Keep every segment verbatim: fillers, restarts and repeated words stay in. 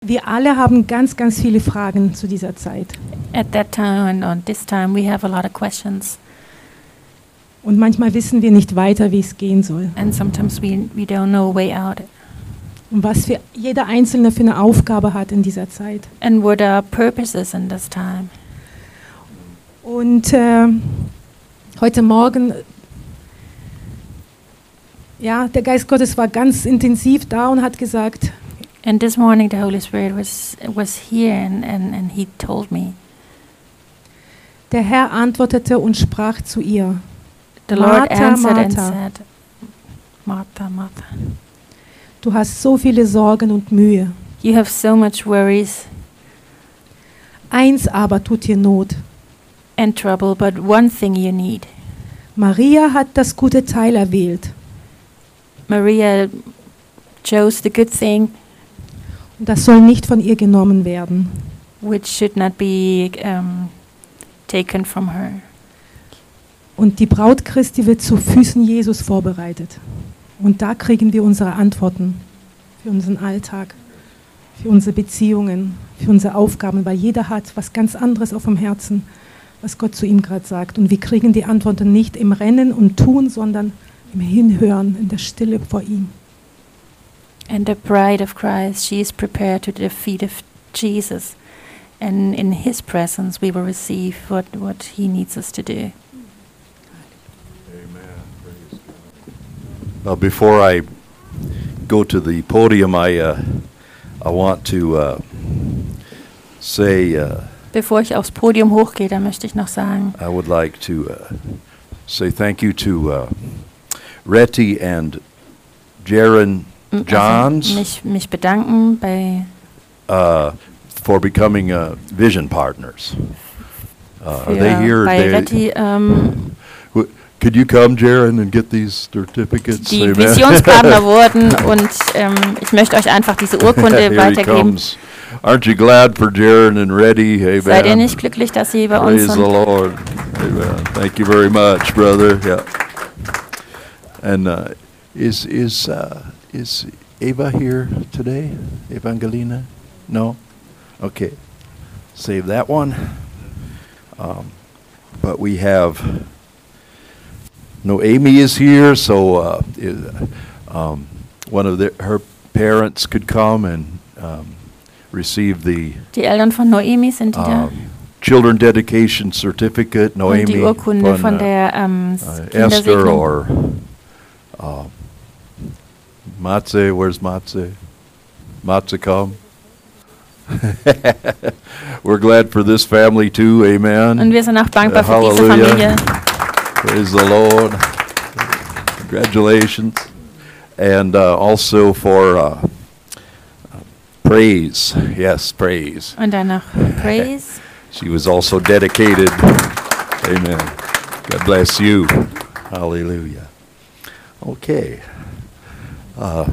Wir alle haben ganz, ganz viele Fragen zu dieser Zeit. At that time and on this time, we have a lot of questions. Und manchmal wissen wir nicht weiter, wie es gehen soll. And sometimes we, we don't know a way out. Und was für jeder Einzelne für eine Aufgabe hat in dieser Zeit. And what our purpose is in this time. Und äh, heute Morgen, ja, der Geist Gottes war ganz intensiv da und hat gesagt, And this morning the Holy Spirit was was here and, and, and he told me. Der Herr antwortete und sprach zu ihr. The Lord Martha, answered and Martha. said, Martha, Martha, Du hast so viele Sorgen und Mühe. you have so much worries Eins aber tut dir Not. and trouble, but one thing you need. Maria hat das gute Teil erwählt. Maria chose the good thing, Und das soll nicht von ihr genommen werden. which should not be um, taken from her. Und die Braut Christi wird zu Füßen Jesus vorbereitet. Und da kriegen wir unsere Antworten für unseren Alltag, für unsere Beziehungen, für unsere Aufgaben, weil jeder hat was ganz anderes auf dem Herzen, was Gott zu ihm gerade sagt. Und wir kriegen die Antworten nicht im Rennen und Tun, sondern im Hinhören, in der Stille vor ihm. And the bride of Christ, she is prepared to the feet of Jesus. And in his presence we will receive what, what he needs us to do. Well, before I go to the podium, I uh, I want to uh, say uh, Bevor ich aufs Podium hochgehe, da möchte ich noch sagen, I would like to uh, say thank you to uh, Reti and Jaron m- Johns also mich, mich bedanken bei uh, for becoming uh, vision partners. Uh, are für, they here? bei They- Retti, ähm, w- could you come, Jaron, and get these certificates? die Amen. Visionspartner wurden und ähm, ich möchte euch einfach diese Urkunde Here he weitergeben. comes. Aren't you glad for Jaron and Reddy? Amen. Seid ihr nicht glücklich, dass sie bei uns Praise the sind? Lord. Amen. Thank you very much, brother. Yeah. And uh, is is uh, is Eva here today? Evangelina? No. Okay. Save that one. Um, but we have. No, Amy is here, so uh, i- um, one of the, her parents could come and um, receive the Die Eltern von Noemi sind die da. um, children dedication certificate. Und Noemi die Urkunde von uh, der ähm, uh, Esther Kindersegnung. or uh, Matze. Where's Matze? Matze, come. We're glad for this family too. Amen. Und wir sind auch dankbar Uh, für diese Halleluja. Familie. Praise the Lord. Congratulations. And uh, also for uh, praise. Yes, praise. Und dann noch Praise. She was also dedicated. Amen. God bless you. Hallelujah. Okay. Uh,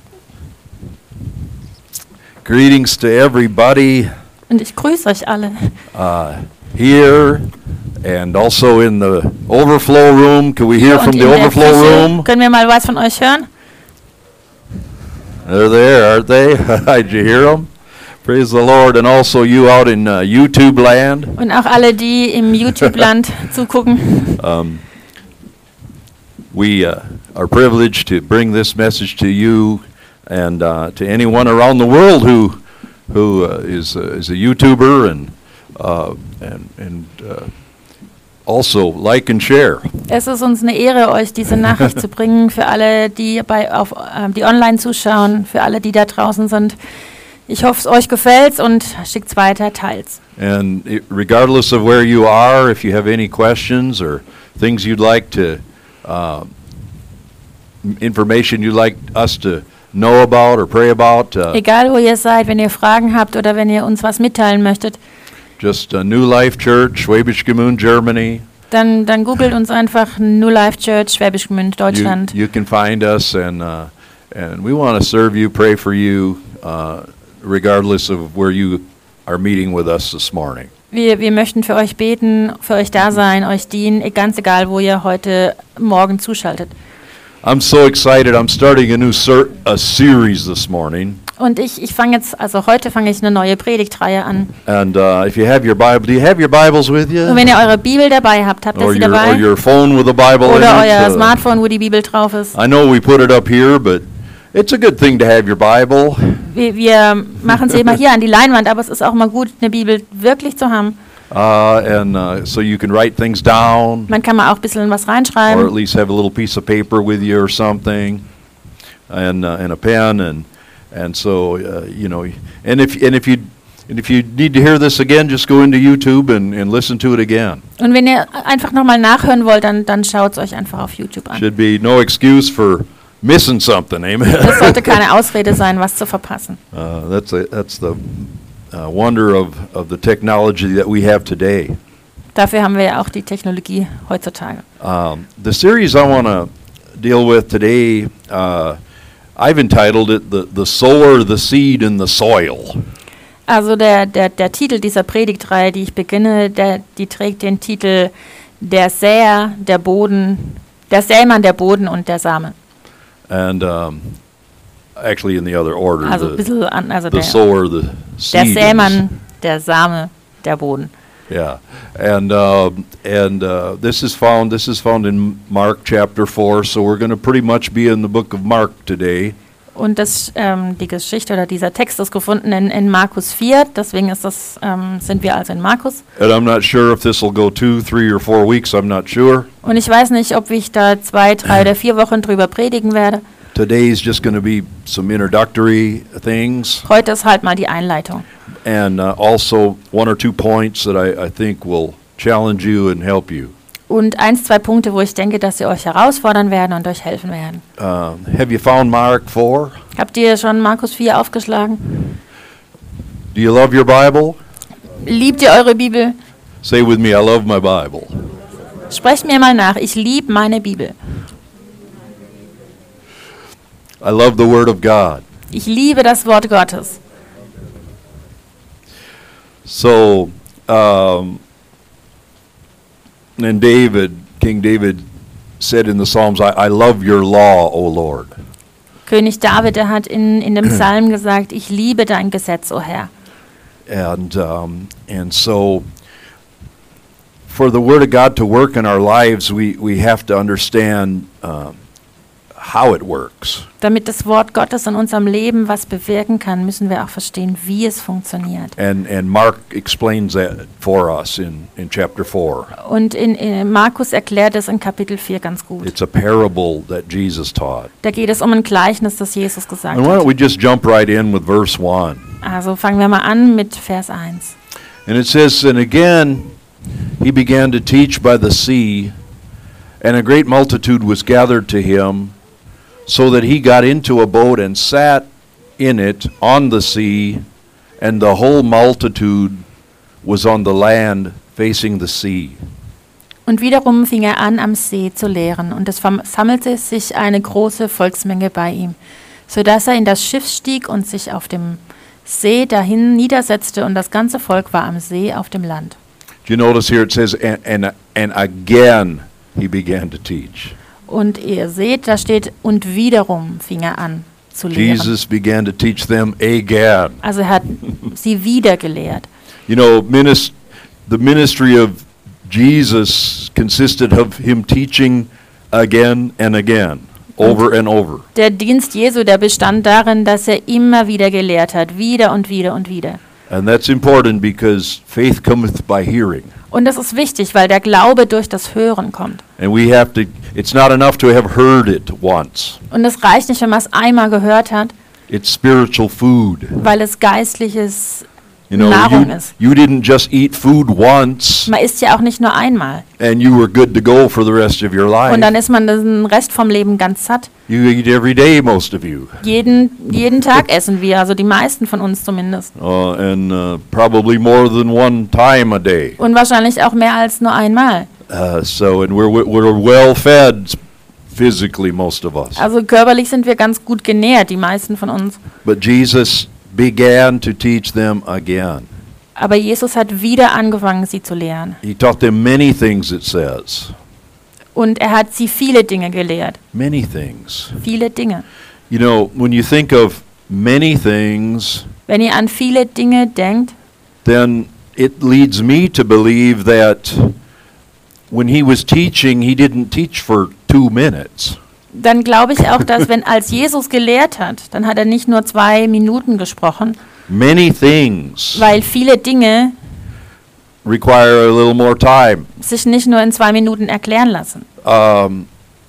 greetings to everybody Und ich grüße euch alle. uh, here and also in the overflow room. Can we hear Und from in the der overflow Küche. room? Können wir mal was von euch hören? They're there, aren't they? Did you hear them? Praise the Lord. And also you out in uh, YouTube land. Und auch alle, die im YouTube-Land zugucken. Um, we uh, are privileged to bring this message to you and uh, to anyone around the world who who uh, is uh, is a YouTuber and uh, and and uh, also like and share. Es ist uns eine Ehre, euch diese Nachricht zu bringen, für alle, die bei auf ähm, die online zuschauen, für alle, die da draußen sind. Ich hoffe, es euch gefällt und schickt's weiter, teilt's. And it, regardless of where you are, if you have any questions or things you'd like to, uh, m- information you'd like us to know about or pray about, uh, Egal, wo ihr seid, wenn ihr Fragen habt oder wenn ihr uns was mitteilen möchtet, just uh, New Life Church, Schwäbisch Gmünd, Germany. dann, dann googelt uns einfach New Life Church, Schwäbisch Gmünd, You, Deutschland. you can find us, and uh, and we want to serve you, pray for you, uh, regardless of where you are meeting with us this morning. Wir, wir möchten für euch beten, für euch da sein, euch dienen, ganz egal, wo ihr heute Morgen zuschaltet. I'm so excited. I'm starting a new ser- a series this morning. Und ich, ich fange jetzt, also heute fange ich eine neue Predigtreihe an. And uh, if you have your Bible, do you have your Bibles with you? Und wenn ihr eure Bibel dabei habt, habt ihr Or sie your, or dabei? your phone with a Bible in Oder it? euer Uh, Smartphone, wo die Bibel drauf ist. I know we put it up here, but it's a good thing to have your Bible. Wir, wir machen sie immer hier an die Leinwand, aber es ist auch mal gut, eine Bibel wirklich zu haben. Uh, and uh, so you can write things down, Man kann mal auch ein bisschen was or at reinschreiben. least have a little piece of paper with you or something, and uh, and a pen, and and so uh, you know, and if and if you and if you need to hear this again, just go into YouTube and, and listen to it again. Und wenn ihr einfach nochmal nachhören wollt, dann, dann schaut es euch einfach auf YouTube an. Should be no excuse for missing something, amen. Das sollte keine Ausrede sein, was zu verpassen. Uh, that's a, that's the uh, wonder of, of the technology that we have today. Dafür haben wir ja auch die Technologie heutzutage. Um, the series I want to deal with today, uh, I've entitled it the, the Sower, the Seed, and the Soil. Also der, der, der Titel dieser Predigtreihe, die ich beginne, der, die trägt den Titel Der Säer, der Boden, der Sämann, der Boden und der Same. And um, actually in the other order, Also ein the, bisschen an, also the der, sower, the seed. der and the Sämann, der Same, der Boden. Yeah, and uh, and uh, this is found this is found in Mark chapter four. So we're going to pretty much be in the book of Mark today. Und das, ähm, die Geschichte oder dieser Text ist gefunden in, in Markus vier, deswegen ist das, ähm, sind wir also in Markus. And I'm not sure if this will go two, three, or four weeks. I'm not sure. Und ich weiß nicht, ob ich da zwei, drei oder vier Wochen drüber predigen werde. Today's just going to be some introductory things, Heute ist halt mal die Einleitung. and uh, also one or two points that I, I think will challenge you and help you. Und eins, zwei Punkte, wo ich denke, dass sie euch herausfordern werden und euch helfen werden. Uh, have you found Mark four? Habt ihr schon Markus vier aufgeschlagen? Do you love your Bible? Liebt ihr eure Bibel? Say with me, I love my Bible. Sprecht mir mal nach. Ich liebe meine Bibel. I love the Word of God. Ich liebe das Wort Gottes. So, um, and David, King David said in the Psalms, I, I love your law, O Lord. König David, der hat in, in dem Psalm gesagt, ich liebe dein Gesetz, o Herr. And, um, and so, for the Word of God to work in our lives, we, we have to understand um, how it works. Damit das Wort Gottes in unserem Leben was bewirken kann, müssen wir auch verstehen, wie es funktioniert. And, and Mark explains that for us in, in chapter four. Und in, in Markus erklärt es in Kapitel vier ganz gut. It's a parable that Jesus taught. Da geht es um ein Gleichnis, das Jesus gesagt And why don't hat. we just jump right in with verse one? Also fangen wir mal an mit Vers eins. And it says, And again he began to teach by the sea, and a great multitude was gathered to him, so that he got into a boat and sat in it on the sea, and the whole multitude was on the land facing the sea. Und wiederum fing er an, am See zu lehren, und es versammelte sich eine große Volksmenge bei ihm, so dass er in das Schiff stieg und sich auf dem See dahin niedersetzte, und das ganze Volk war am See auf dem Land. Do you notice here it says, and, and, and again he began to teach. Und ihr seht, da steht, und wiederum fing er an zu lehren. Jesus began to teach them again. Also er hat sie wieder gelehrt. You know, minis- the ministry of Jesus consisted of him teaching again and again, over and over. Der Dienst Jesu, der bestand darin, dass er immer wieder gelehrt hat, wieder und wieder und wieder. And that's important because faith cometh by hearing. Und das ist wichtig, weil der Glaube durch das Hören kommt. And we have to, it's not enough to have heard it once. Und es reicht nicht, wenn man es einmal gehört hat, It's spiritual food. weil es geistliches You know, Nahrung you, ist. you didn't just eat food once Man isst ja auch nicht nur einmal. and you were good to go for the rest of your life. Und dann ist man den Rest vom Leben ganz satt. You eat every day, most of you. Jeden, jeden Tag essen wir, also die meisten von uns zumindest. Uh, and uh, probably more than one time a day. Und wahrscheinlich auch mehr als nur einmal. Uh, so, and we're, we're well fed physically, most of us. Also körperlich sind wir ganz gut genährt, die meisten von uns. But Jesus began to teach them again. Aber Jesus hat wieder angefangen, sie zu lehren. He taught them many things, it says. Und er hat sie viele Dinge gelehrt. Many things. Viele Dinge. You know, when you think of many things, wenn ihr an viele Dinge denkt, then it leads me to believe that when he was teaching, he didn't teach for two minutes. dann glaube ich auch, dass wenn als Jesus gelehrt hat, dann hat er nicht nur zwei Minuten gesprochen, Many things weil viele Dinge require a little more time. sich nicht nur in zwei Minuten erklären lassen. Um,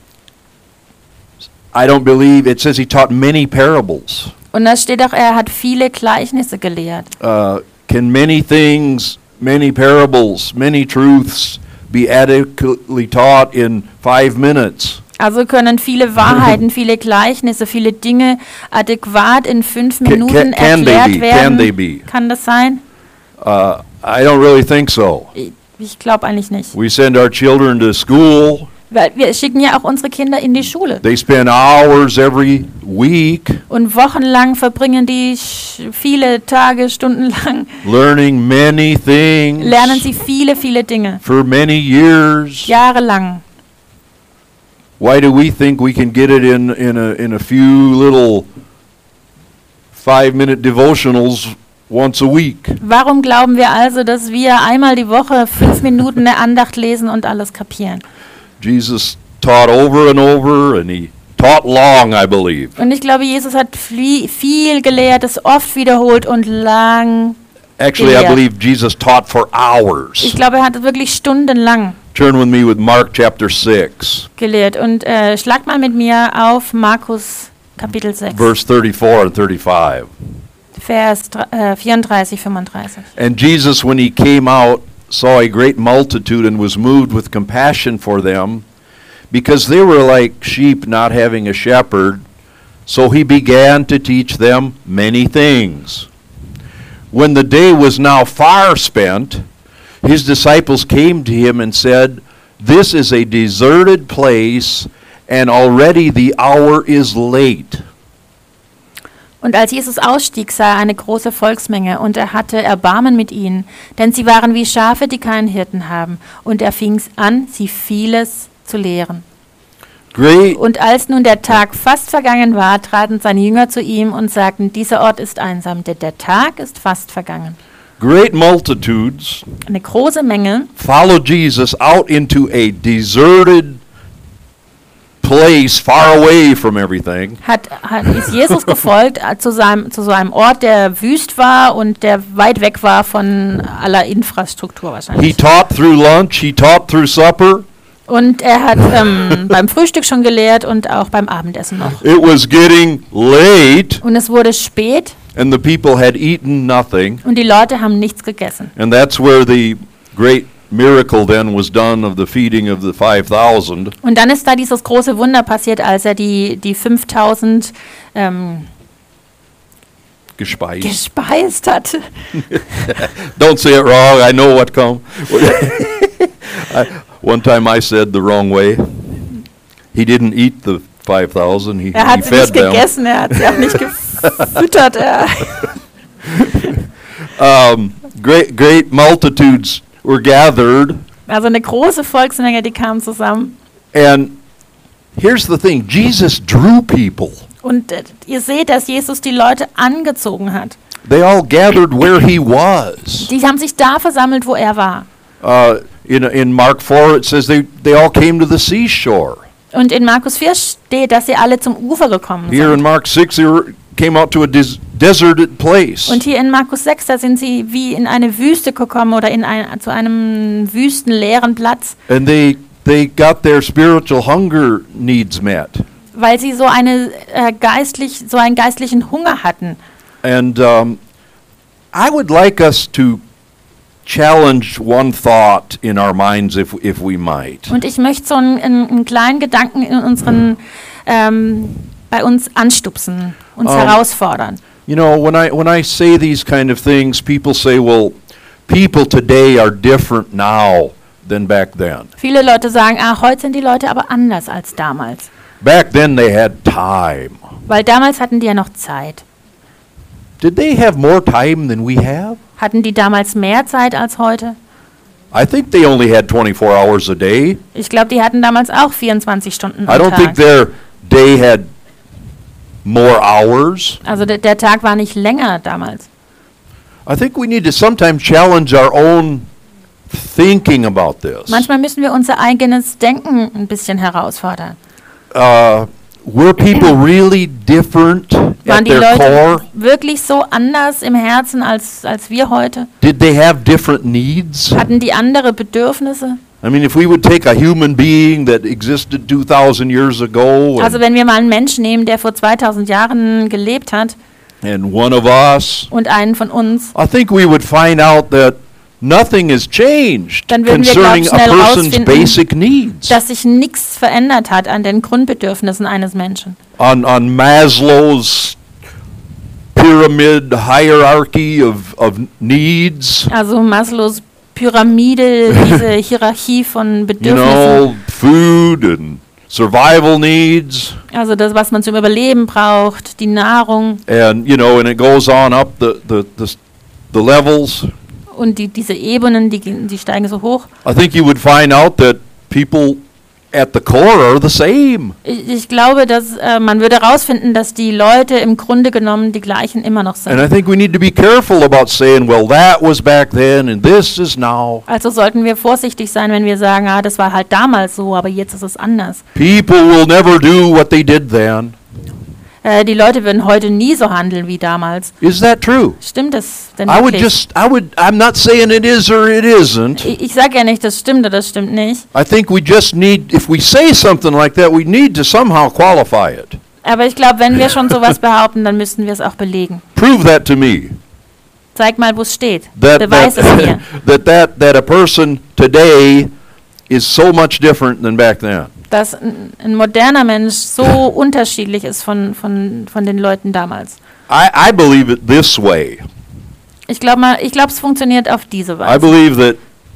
I don't believe, it says he taught many parables. Und da steht auch, er hat viele Gleichnisse gelehrt. Uh, can many things, many parables, many truths be adequately taught in five minutes? Also können viele Wahrheiten, viele Gleichnisse, viele Dinge adäquat in fünf Can- Minuten can- can they erklärt be? werden. Can they be? Kann das sein? Uh, I don't really think so. Ich, ich glaube eigentlich nicht. We send our children to school. Weil wir schicken ja auch unsere Kinder in die Schule. They spend hours every week Und wochenlang verbringen die sch- viele Tage, Stunden lang, learning many things lernen sie viele, viele Dinge. for many years. Jahrelang. Why do we think we can get it in, in, a, in a few little five-minute devotionals once a week? Warum glauben wir also, dass wir einmal die Woche fünf Minuten eine Andacht lesen und alles kapieren? Jesus taught over and over, and he taught long, I believe. Und ich glaube, Jesus hat flie- viel gelehrt, es oft wiederholt und lang. Actually, I gelehrt. believe Jesus taught for Ich hours. glaube, er hat wirklich stundenlang Turn with me with Mark chapter six, gelehrt. Und äh, schlagt mal mit mir auf Markus Kapitel sechs, verse thirty-four and thirty-five. Vers dr- äh, vierunddreißig, fünfunddreißig. And Jesus, when he came out, saw a great multitude and was moved with compassion for them, because they were like sheep not having a shepherd. So he began to teach them many things. When the day was now far spent, his disciples came to him and said, "This is a deserted place, and already the hour is late." Und als Jesus ausstieg, sah er eine große Volksmenge, und er hatte Erbarmen mit ihnen, denn sie waren wie Schafe, die keinen Hirten haben. Und er fing an, sie vieles zu lehren. Great, Und als nun der Tag fast vergangen war, traten seine Jünger zu ihm und sagten, dieser Ort ist einsam, denn der Tag ist fast vergangen. great multitudes Eine große Menge followed Jesus out into a deserted place far away from everything. hat, hat, ist Jesus gefolgt äh, zu, seinem, zu so einem Ort, der wüst war und der weit weg war von aller Infrastruktur He wahrscheinlich. taught through lunch, he taught through supper. Und er hat ähm, beim Frühstück schon gelehrt und auch beim Abendessen noch. It was getting late, Und es wurde spät and the people had eaten nothing. und die Leute haben nichts gegessen. And that's where the great miracle then was done of the feeding of the five thousand. Und dann ist da dieses große Wunder passiert, als er die, die fünftausend ähm, Gespeist. gespeist hat. Don't say it wrong, I know what come. I, one time I said the wrong way. He didn't eat the five thousand, he, Er he hat sie nicht fed them. gegessen, er hat sie auch nicht gefüttert. Er Um, great, great multitudes were gathered. also eine große Volksmenge, die kam zusammen. And here's the thing, Jesus drew people. Und äh, ihr seht, dass Jesus die Leute angezogen hat. They all gathered where he was. Die haben sich da versammelt, wo er war. Uh, in, in Mark four, it says they, they all came to the seashore. Und in Markus vier steht, dass sie alle zum Ufer gekommen Here in sind. Mark six, they were, came out to a des- deserted place. Und hier in Markus sechs, da sind sie wie in eine Wüste gekommen oder in ein, zu einem wüsten, leeren Platz, And they, they got their spiritual hunger needs met. weil sie so, eine, äh, geistlich, so einen geistlichen Hunger hatten. And um, I would like us to challenge one thought in our minds, if, if we might. Und ich möchte so einen, einen, einen kleinen Gedanken in unseren, ähm, bei uns anstupsen, uns Um, herausfordern. You know, when I when I say these kind of things, people say, "Well, people today are different now than back then. Viele Leute sagen, ah, heute sind die Leute aber anders als damals. Back then they had time. Weil damals hatten die ja noch Zeit. Did they have more time than we have? Hatten die damals mehr Zeit als heute? I think they only had twenty-four hours a day. Ich glaube, die hatten damals auch vierundzwanzig Stunden I am don't think Tag. their day had more hours. Also der, der Tag war nicht länger damals. I think we need to sometimes challenge our own thinking about this. Manchmal müssen wir unser eigenes Denken ein bisschen herausfordern. Uh, were people really different Waren at die their Leute core? wirklich so anders im Herzen als, als wir heute? Did they have different needs? Hatten die andere Bedürfnisse? I mean, if we would take a human being that existed two thousand years ago Also and, wenn wir mal einen Menschen nehmen, der vor zweitausend Jahren gelebt hat and one of us, und einen von uns, I think we would find out that nothing has changed Dann würden wir, concerning glaub, a schnell person's rausfinden, basic needs. dass sich nichts verändert hat an den Grundbedürfnissen eines Menschen. On, on Maslow's pyramid hierarchy of, of needs, Also Maslows Pyramide, diese Hierarchie von you Bedürfnissen, know, food and survival needs, also das, was man zum Überleben braucht, die Nahrung and, you know, and it goes on up the, the, the, the levels. und die, diese Ebenen, die, gehen- die steigen so hoch. I think you would find out that people at the core are the same. Ich, ich glaube, dass äh, man würde herausfinden, dass die Leute im Grunde genommen die gleichen immer noch And I sind. think we need to be careful about saying, well, that was back then and this is now. Also sollten wir vorsichtig sein, wenn wir sagen, ah, das war halt damals so, aber jetzt ist es anders. People will never do what they did then. Äh, die Leute würden heute nie so handeln wie damals. Is that true? Stimmt das denn I would wirklich? just, I would, I'm not saying it is or it isn't. Ich, ich sage ja nicht, das stimmt oder das stimmt nicht. I think we just need, if we say something like that, we need to somehow qualify it. Aber ich glaube, wenn wir schon sowas behaupten, dann müssten wir es auch belegen. Prove that to me. Zeig mal, wo es steht. That, Beweis es mir. that, that, that, that a person today is so much different than back then. Dass ein, ein moderner Mensch so unterschiedlich ist von, von, von den Leuten damals. I, I believe it this way. Ich glaube mal, ich glaube, es funktioniert auf diese I Weise. believe that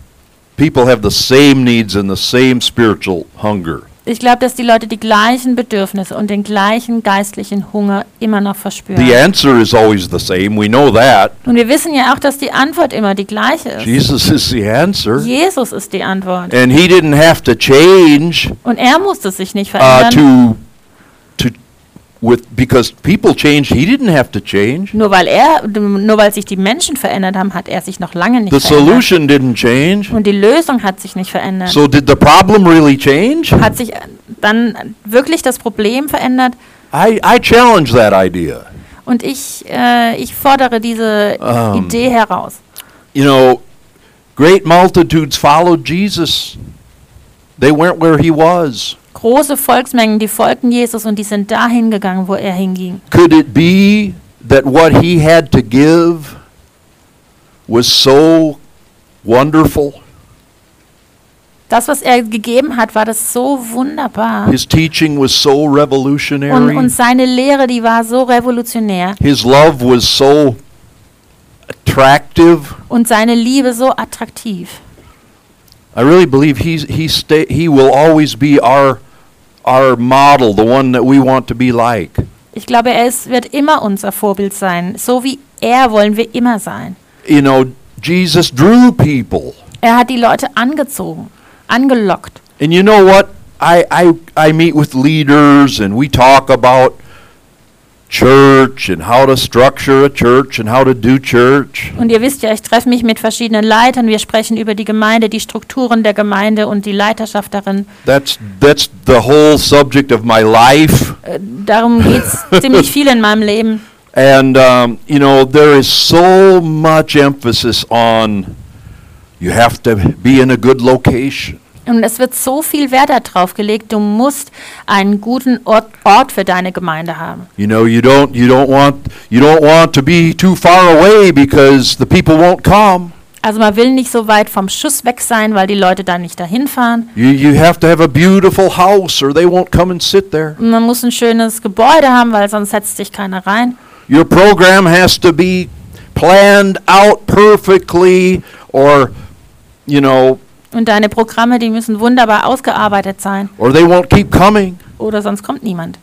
people have the same needs and the same spiritual hunger. Ich glaube, dass die Leute die gleichen Bedürfnisse und den gleichen geistlichen Hunger immer noch verspüren. The answer is always the same. We know that. Und wir wissen ja auch, dass die Antwort immer die gleiche ist. Jesus is the answer. Jesus ist die Antwort. And he didn't have to change Und er musste sich nicht uh, verändern. to, to, with, because people changed. He didn't have to change. Nur weil er, nur weil sich die Menschen verändert haben, hat er sich noch lange nicht The verändert. solution didn't change. Und die Lösung hat sich nicht verändert. So did the problem really change? Hat sich dann wirklich das Problem verändert? I, I challenge that idea. Und ich, äh, ich fordere diese Um. Idee heraus. You know, great multitudes followed Jesus. They went where he was. Große Volksmengen, die folgten Jesus und die sind dahin gegangen, wo er hinging. Could it be that what he had to give was so wonderful? Das, was er gegeben hat, war das so wunderbar. His teaching was so Und, revolutionary. und seine Lehre, die war so revolutionär. His love was so attractive. Und seine Liebe so attraktiv. I really believe he's, he, stay, he will always be our, our model, the one that we want to be like. Ich glaube, er ist, wird immer unser Vorbild sein. So wie er wollen wir immer sein. You know, Jesus drew people. Er hat die Leute angezogen, angelockt. And you know what? I, I, I meet with leaders and we talk about church and how to structure a church and how to do church. Und ihr wisst ja, ich treffe mich mit verschiedenen Leitern. Wir sprechen über die Gemeinde, die Strukturen der Gemeinde und die Leiterschaft darin. That's, that's the whole subject of my life. Äh, darum geht es ziemlich viel in meinem Leben. And, um, you know, there is so much emphasis on you have to be in a good location. Und es wird so viel Wert darauf gelegt, du musst einen guten Ort, Ort für deine Gemeinde haben. You know, you don't, you don't want, you don't want to be too far away because the people won't come. Also man will nicht so weit vom Schuss weg sein, weil die Leute dann nicht dahin fahren. You, you have to have a beautiful house or they won't come and sit there. Und man muss ein schönes Gebäude haben, weil sonst setzt sich keiner rein. Your program has to be planned out perfectly or, you know, Und deine Programme, die müssen wunderbar ausgearbeitet sein. or they won't keep coming. Oder sonst kommt niemand.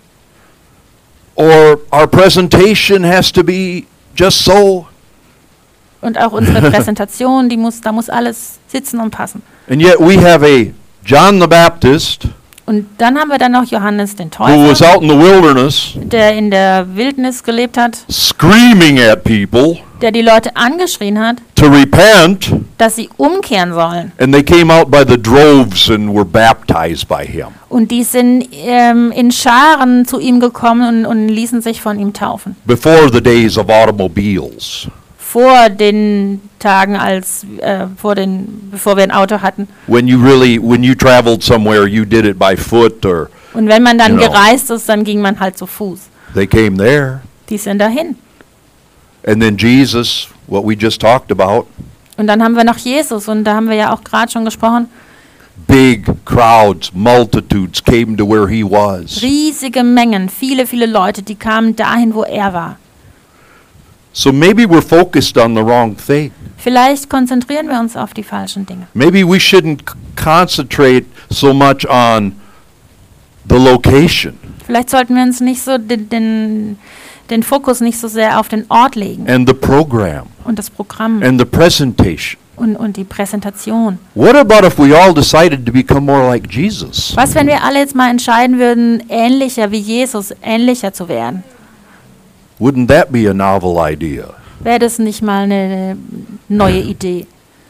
Or our presentation has to be just so. Und auch unsere Präsentation, die muss, da muss alles sitzen und passen. And yet we have a John the Baptist Und dann haben wir dann noch Johannes den who was Täufer, out in the wilderness der in der Wildnis gelebt hat, screaming at people der die Leute angeschrien hat, to repent, dass sie umkehren sollen. and they came out by the droves and were baptized by him. Und die sind ähm, in Scharen zu ihm gekommen und, und ließen sich von ihm taufen. Before the days of automobiles. Vor den Tagen, als äh, vor den, bevor wir ein Auto hatten. When you really, when you traveled somewhere, you did it by foot, or Und wenn man dann You know. gereist ist, dann ging man halt zu Fuß. they came there. Die sind dahin. And then Jesus, what we just talked about, Und dann haben wir noch Jesus und da haben wir ja auch gerade schon gesprochen. big crowds, multitudes came to where he was. Riesige Mengen, viele, viele Leute, die kamen dahin, wo er war. So maybe we're focused on the wrong thing. Vielleicht konzentrieren wir uns auf die falschen Dinge. Maybe we shouldn't c- concentrate so much on the location Vielleicht sollten wir uns nicht so den, den, den Fokus nicht so sehr auf den Ort legen and the program und das Programm and the presentation. und, und die Präsentation. What about if we all decided to become more like Jesus? Was, wenn wir alle jetzt mal entscheiden würden, ähnlicher wie Jesus, ähnlicher zu werden? Wouldn't that be a novel idea? Wäre das nicht mal eine neue Idee?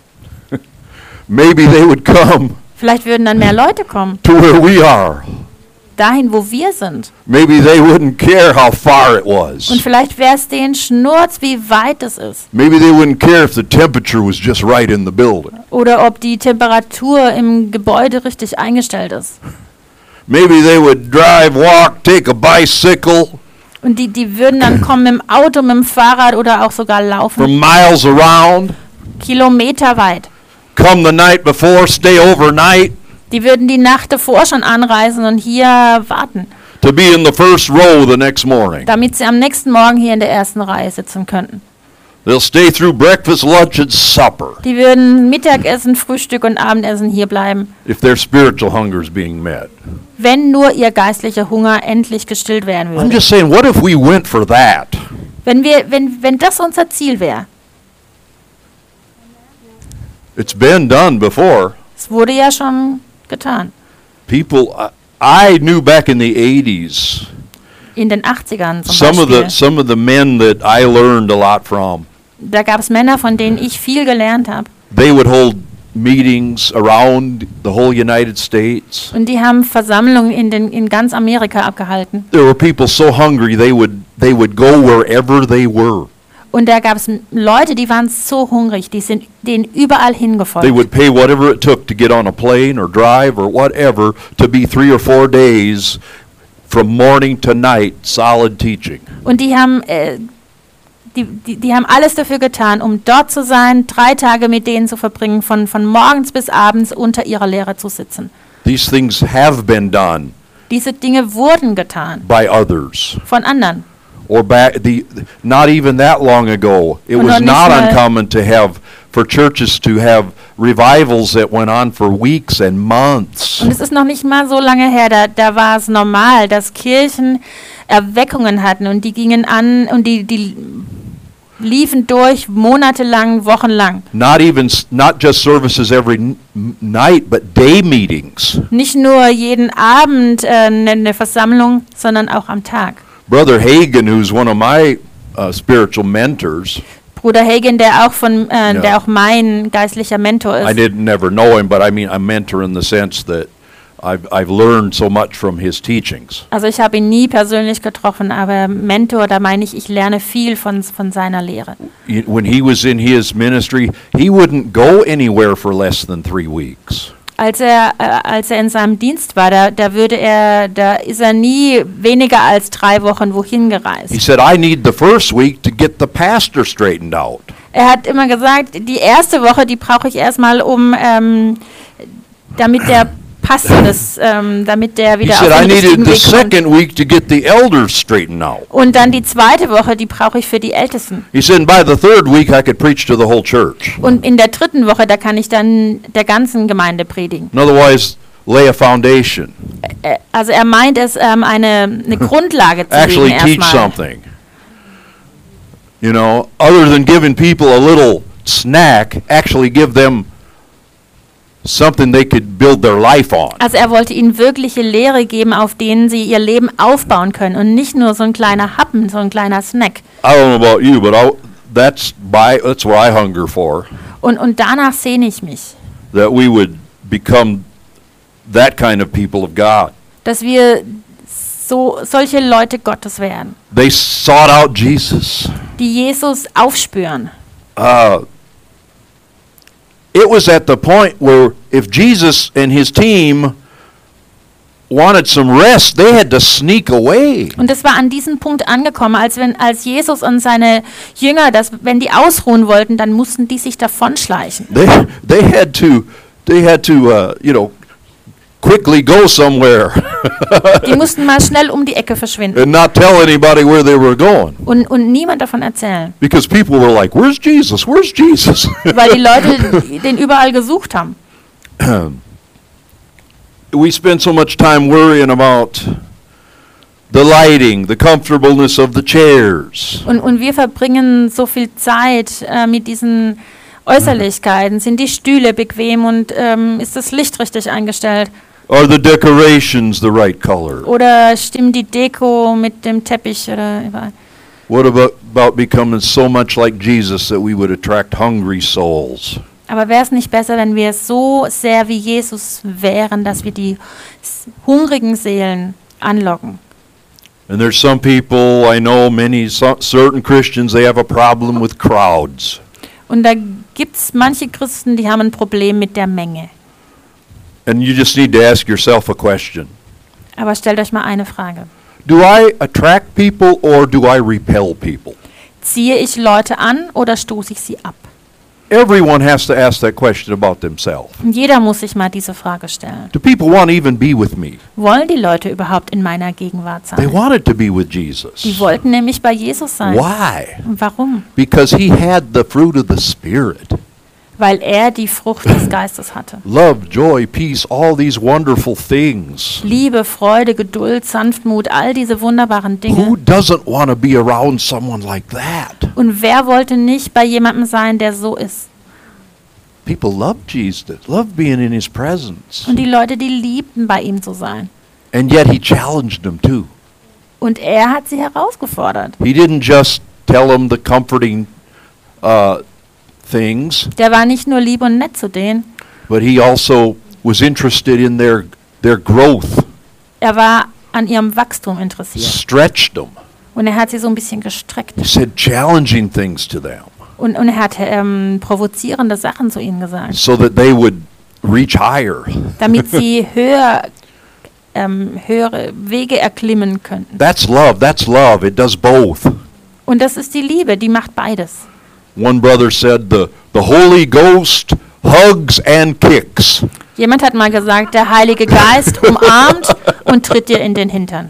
Maybe they would come Vielleicht würden dann mehr Leute kommen, to where we are. dahin, wo wir sind. Maybe they wouldn't care how far it Und was. vielleicht wäre es denen Schnurz, wie weit es ist. Maybe they wouldn't care if the temperature was just right in the building. Oder ob die Temperatur im Gebäude richtig eingestellt ist. Maybe they would drive, walk, take a bicycle Und die, die würden dann kommen mit dem Auto, mit dem Fahrrad oder auch sogar laufen. from miles around, Kilometer weit. come the night before, stay overnight, Die würden die Nacht davor schon anreisen und hier warten, to be in the first row the next morning. damit sie am nächsten Morgen hier in der ersten Reihe sitzen könnten. They'll stay through breakfast, lunch, and supper Die würden Mittagessen, Frühstück und Abendessen hier bleiben, if their spiritual hunger is being met. wenn nur ihr geistlicher Hunger endlich gestillt werden I'm würde. just saying, what if we went for that? Wenn, wir, wenn, wenn das unser Ziel wäre. It's been done before. Es wurde ja schon getan. People, I, I knew back in the eighties, In den achtzigern zum some of the Beispiel. some of the men that I learned a lot from. Da gab es Männer, von denen ich viel gelernt habe. They would hold meetings around the whole United States. Und die haben Versammlungen in, den, in ganz Amerika abgehalten. There were people so hungry they would they would go wherever they were. Und da gab es Leute, die waren so hungrig, die sind denen überall They hingefolgt. would pay whatever it took to get on a plane or drive or whatever to be three or four days from morning to night solid teaching. Und die haben, äh, die, die, die haben alles dafür getan, um dort zu sein, drei Tage mit denen zu verbringen, von, von morgens bis abends unter ihrer Lehre zu sitzen. These things have been done Diese Dinge wurden getan by others. von anderen. Or back the not even that long ago, it Und was noch nicht not mal- uncommon to have for churches to have revivals that went on for weeks and months. Und es ist noch nicht mal so lange her, da, da war es normal, dass Kirchen Erweckungen hatten und die gingen an und die, die liefen durch monatelang, wochenlang. Not even s- not just services every n- m- night, but day meetings. Nicht nur jeden Abend äh, eine eine Versammlung, sondern auch am Tag. Brother Hagen, who's one of my uh, spiritual mentors, Bruder Hagen, der auch von, äh, Ja. der auch mein geistlicher Mentor I ist. didn't never know him, but I mean a mentor in the sense that I've I've learned so much from his teachings. Also ich habe ihn nie persönlich getroffen, aber Mentor, da meine ich, ich lerne viel von, von seiner Lehre. Y- When he was in his ministry, he wouldn't go anywhere for less than three weeks. Als er, äh, als er in seinem Dienst war, da, da würde er, da ist er nie weniger als drei Wochen wohin He gereist. said, I need the first week to get the pastor straightened out. Er hat immer gesagt, die erste Woche, die brauche ich erstmal, um, ähm, damit der Pastor das, ähm, damit der He wieder said, auf I den richtigen needed the Weg kommt. second week to get the elders straightened out. Und dann die zweite Woche, die brauche ich für die Ältesten. He said, and by the third week, I could preach to the whole church. Und in der dritten Woche, da kann ich dann der ganzen Gemeinde predigen. In other words, lay a foundation, Äh, Also er meint es, ähm, eine, eine Grundlage zu actually legen teach erstmal. something. You know, other than giving people a little snack, actually give them something they could build their life on. Also er wollte ihnen wirkliche Lehre geben, auf denen sie ihr Leben aufbauen können und nicht nur so ein kleiner Happen, so ein kleiner Snack. I don't know about you, but I, that's by that's what I hunger for. Und, und danach sehne ich mich, That we would become that kind of people of God. dass wir so solche Leute Gottes werden, They sought out Jesus. die Jesus aufspüren. Uh, it was at the point where if Jesus and his team wanted some rest, they had to sneak away. Und es war an diesem Punkt angekommen, als wenn als Jesus und seine Jünger, dass wenn die ausruhen wollten, dann mussten die sich davonschleichen. They they had to they had to uh, you know quickly go somewhere Die mussten mal schnell um die Ecke verschwinden and not tell anybody where they were going und, und niemand davon erzählen, because people were like, "Where's Jesus? Where's Jesus?" weil die Leute den überall gesucht haben. We spend so much time worrying about the lighting, the comfortableness of the chairs. Und, und wir verbringen so viel Zeit äh, mit diesen Äußerlichkeiten. Sind die Stühle bequem und ähm, ist das Licht richtig eingestellt? Are the decorations the right color? Oder stimmt die Deko mit dem Teppich? Oder überall? What about, about becoming so much like Jesus that we would attract hungry souls? Aber wäre es nicht besser, wenn wir so sehr wie Jesus wären, dass wir die s- hungrigen Seelen anlocken? And there's some people, I know many, so, certain Christians, they have a problem with crowds. Und da gibt es manche Christen, die haben ein Problem mit der Menge. And you just need to ask yourself a question. Aber stellt euch mal eine Frage. Do I attract people or do I repel people? Ziehe ich Leute an oder stoße ich sie ab? Everyone has to ask that question about themselves. Und jeder muss sich mal diese Frage stellen. Do people want to even be with me? Wollen die Leute überhaupt in meiner Gegenwart They sein? wanted to be with Jesus. Die wollten nämlich bei Jesus sein. Why? Und warum? Because he had the fruit of the Spirit. Weil er die Frucht des Geistes hatte. Love, joy, peace, all these wonderful things. Liebe, Freude, Geduld, Sanftmut, all diese wunderbaren Who Dinge. doesn't want to be around someone like that? Und wer wollte nicht bei jemandem sein, der so ist? People love Jesus, love being in his presence. Und die Leute, die liebten, bei ihm zu sein. And yet he challenged them too. Und er hat sie herausgefordert. He didn't just tell them the comforting uh, things, Der war nicht nur lieb und nett zu denen, but he also was interested in their their growth, er war an ihrem Wachstum interessiert. stretched them. Und er hat sie so ein bisschen gestreckt. He said challenging things to them Und, und er hat ähm, provozierende Sachen zu ihnen gesagt, so that they would reach higher. damit sie höher, ähm, höhere Wege erklimmen könnten. That's love. That's love. It does both. Und das ist die Liebe, die macht beides. One brother said the the Holy Ghost hugs and kicks. Jemand hat mal gesagt, der Heilige Geist umarmt und tritt dir in den Hintern.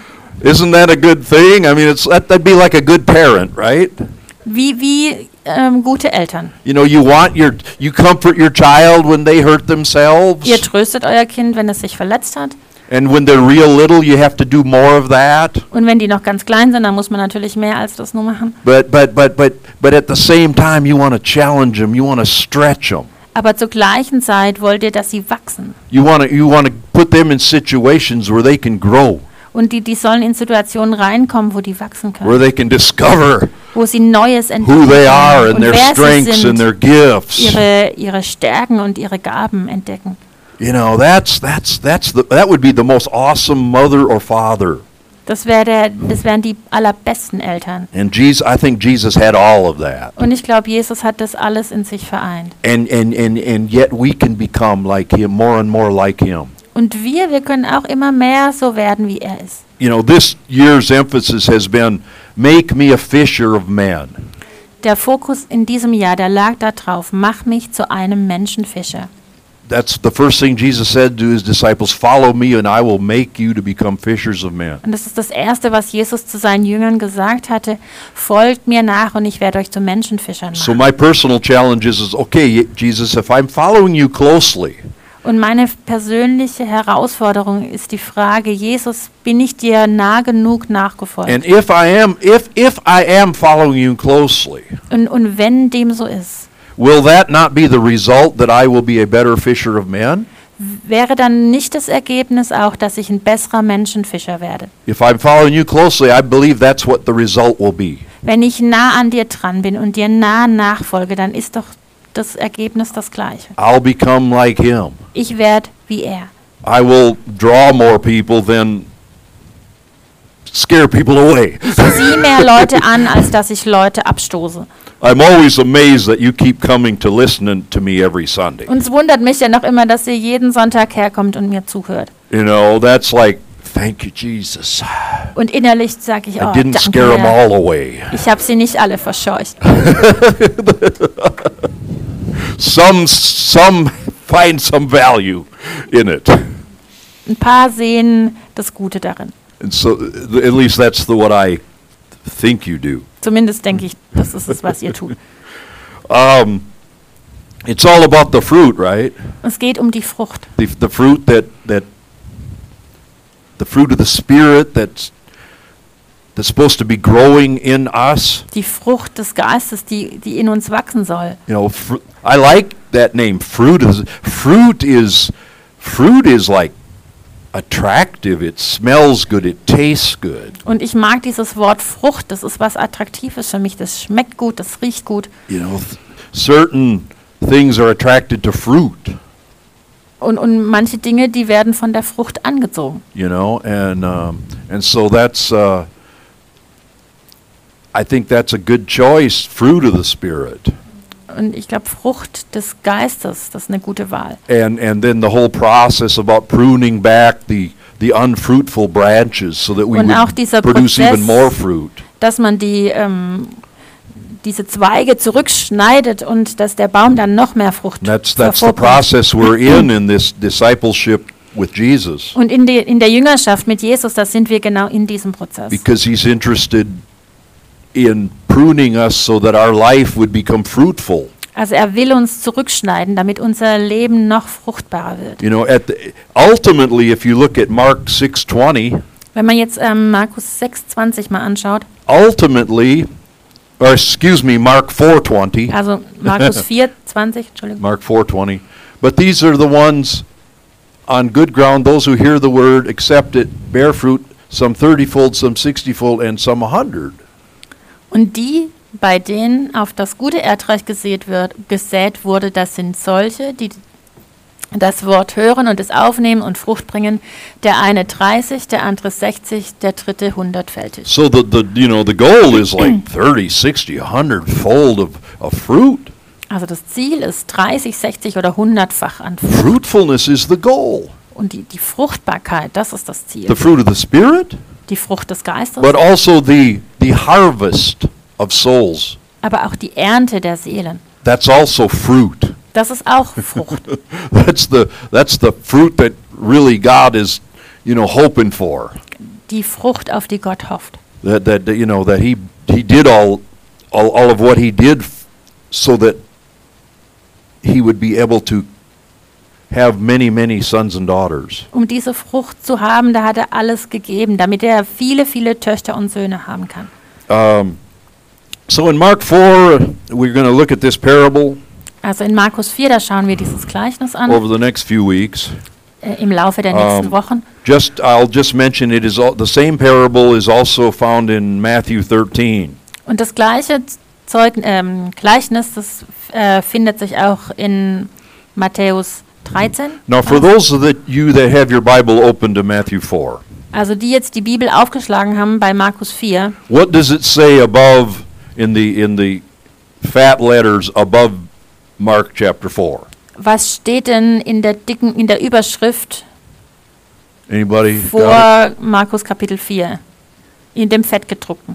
Isn't that a good thing? I mean, it's that, that'd be like a good parent, right? Wie, wie ähm, gute Eltern. You know, you want your you comfort your child when they hurt Ihr themselves, tröstet euer Kind, wenn es sich verletzt hat. and when they're real little, you have to do more of that. Und wenn die noch ganz klein sind, dann muss man natürlich mehr als das nur machen. But but but but but at the same time, you want to challenge them. You want to stretch them. Aber zur gleichen Zeit wollt ihr, dass sie wachsen. You want to you want to put them in situations where they can grow, Und die, die sollen in Situationen reinkommen, wo die wachsen where können. they can discover Wo sie Neues who entdecken they are können. and Und their wer sie strengths and sind, their gifts. ihre, ihre Stärken und ihre Gaben entdecken. You know, that's that's that's the that would be the most awesome mother or father. Das, wär der, das wären die allerbesten Eltern. And Jesus, I think Jesus had all of that. Und ich glaube, Jesus hat das alles in sich vereint. And and and and yet we can become like him, more and more like him. Und wir, wir können auch immer mehr so werden, wie er ist. You know, this year's emphasis has been make me a fisher of men. Der Fokus in diesem Jahr, der lag da drauf, mach mich zu einem Menschenfischer. That's the first thing Jesus said to his disciples, follow me and I will make you to become fishers of men. Und das ist das Erste, was Jesus zu seinen Jüngern gesagt hatte, folgt mir nach und ich werde euch zu Menschenfischern So machen. my personal challenge is, is okay, Jesus, if I'm following you closely, Und meine persönliche Herausforderung ist die Frage, Jesus, bin ich dir nah genug nachgefolgt? and if I am if if I am following you closely, Und, und wenn dem so ist, will that not be the result that I will be a better fisher of men? Wäre dann nicht das Ergebnis auch, dass ich ein besserer Menschenfischer werde? If I'm following you closely, I believe that's what the result will be. Wenn ich nah an dir dran bin und dir nah nachfolge, dann ist doch das Ergebnis das gleiche. I'll become like him. Ich werde wie er. I will draw more people than scare people away. Ich ziehe mehr Leute an, als dass ich Leute abstoße. I'm always amazed that you keep coming to listen to me every Sunday. Und es wundert mich ja noch immer, dass ihr jeden Sonntag herkommt und mir zuhört. You know, that's like, thank you, Jesus. Und innerlich sage ich, I oh, didn't danke, scare them Herr. all away. Ich habe sie nicht alle verscheucht. Some, some find some value in it. Ein paar sehen das Gute darin. And so, th- at least that's the, what I think you do. Zumindest denke ich, das ist es, was ihr tut. Um, it's all about the fruit, right? Es geht um die Frucht. The, the fruit that, that, the fruit of the Spirit that's, that's supposed to be growing in us. Die Frucht des Geistes, die, die in uns wachsen soll. You know, fr- I like that name, fruit. Is, fruit is, fruit is like attractive. It smells good. It tastes good. Und ich mag dieses Wort Frucht, das ist was Attraktives für mich. Das schmeckt gut, das riecht gut. You know, th- certain things are attracted to fruit. Und, und manche Dinge, die werden von der Frucht angezogen. You know, and um, and so that's. Uh, I think that's a good choice. Fruit of the Spirit. Und ich glaube, Frucht des Geistes, das ist eine gute Wahl. And and then the whole process about pruning back the the unfruitful branches so that we Und auch would dieser produce Prozess, even more fruit. dass man die, ähm, diese Zweige zurückschneidet und dass der Baum dann noch mehr Frucht And that's that's the hervorbringt. process we're in in this discipleship with Jesus, Und in, die, in der Jüngerschaft mit Jesus, da sind wir genau in diesem Prozess. because he's interested in pruning us so that our life would become fruitful. Also er will uns zurückschneiden, damit unser Leben noch fruchtbarer wird. You know, at the, ultimately, if you look at Mark six twenty, Wenn man jetzt ähm, Markus sechs zwanzig mal anschaut, ultimately, or excuse me, Mark four twenty, also Markus vier zwanzig, Entschuldigung. Mark four twenty, but these are the ones on good ground, those who hear the word, accept it, bear fruit, some thirty-fold, some sixty-fold, and some a hundred. Und die, bei denen auf das gute Erdreich gesät, wird, gesät wurde, das sind solche, die das Wort hören und es aufnehmen und Frucht bringen. Der eine dreißig, der andere sechzig, der dritte hundertfältig. So the, the you know the goal is like thirty, sixty, a hundred fold of, of fruit. Also das Ziel ist dreißig, sechzig oder hundertfach an Frucht. Fruitfulness is the goal. Und die, die Fruchtbarkeit, das ist das Ziel. The fruit of the Spirit, Die Frucht des Geistes, but also the the harvest of souls. aber auch die Ernte der Seelen. That's also fruit. Das ist auch Frucht. That's the that's the fruit that really God is, you know, hoping for. Die Frucht, auf die Gott hofft. That that you know that he he did all all, all of what he did f- so that he would be able to have many many sons and daughters. Um diese Frucht zu haben, da hat er alles gegeben, damit er viele, viele Töchter und Söhne haben kann. Um, so in Mark four, we're going to look at this parable Also in Markus vier, da schauen wir dieses Gleichnis an, over the next few weeks. äh, im Laufe der nächsten Um, Wochen. Just I'll just mention it is all, the same parable is also found in Matthew thirteen. Und das gleiche Zeug, ähm, Gleichnis, das äh, findet sich auch in Matthäus dreizehn. Now, for those that you that have your Bible open to Matthew four, Also die jetzt die Bibel aufgeschlagen haben bei Markus vier, what does it say above in the in the fat letters above Mark chapter four? was steht denn in der dicken, in der Überschrift Anybody got it? vor Markus Kapitel vier? In dem fettgedruckten.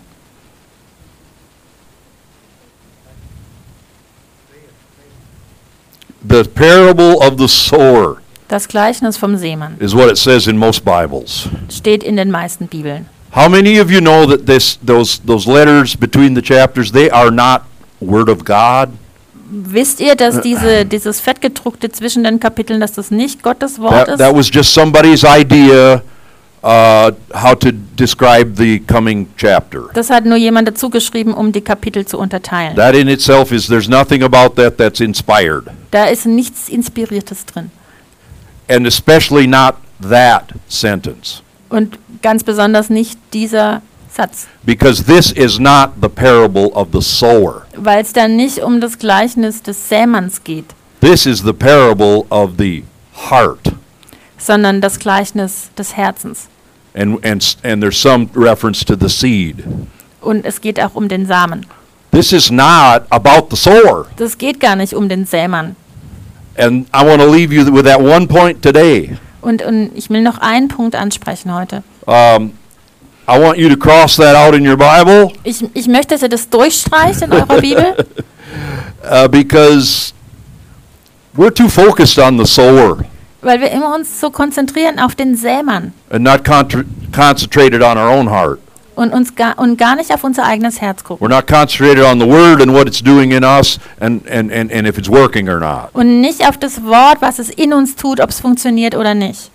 The parable of the sower Das Gleichnis vom Seemann is what it says in most Bibles. steht in den meisten Bibeln. How many of you know that this those those letters between the chapters, they are not word of God? Wisst ihr, dass diese, dieses fettgedruckte zwischen den Kapiteln, dass das nicht Gottes Wort That, ist? that was just somebody's idea uh, how to describe the coming chapter. Das hat nur jemand dazu geschrieben, um die Kapitel zu unterteilen. That in itself is, there's nothing about that that's inspired. Da ist nichts Inspiriertes drin. And especially not that sentence. Und ganz besonders nicht dieser Satz. Because this is not the parable of the sower. Weil es dann nicht um das Gleichnis des Sämanns geht, This is the parable of the heart. sondern das Gleichnis des Herzens. And, and, and there's some reference to the seed. Und es geht auch um den Samen. This is not about the sower. Das geht gar nicht um den Sämann. And I want to leave you with that one point today. Und, und ich will noch einen Punkt ansprechen heute. Um, I want you to cross that out in your Bible Ich, ich möchte, dass ihr das durchstreicht in eurer Bibel, uh, because we're too focused on the sower weil wir immer uns so konzentrieren auf den Sämann and not contra- concentrated on our own heart. und uns gar, und gar nicht auf unser eigenes Herz gucken. We're not concentrated on the word and what it's doing in us and, and, and, and if it's working or not. Und nicht auf das Wort, was es in uns tut, ob es funktioniert oder nicht.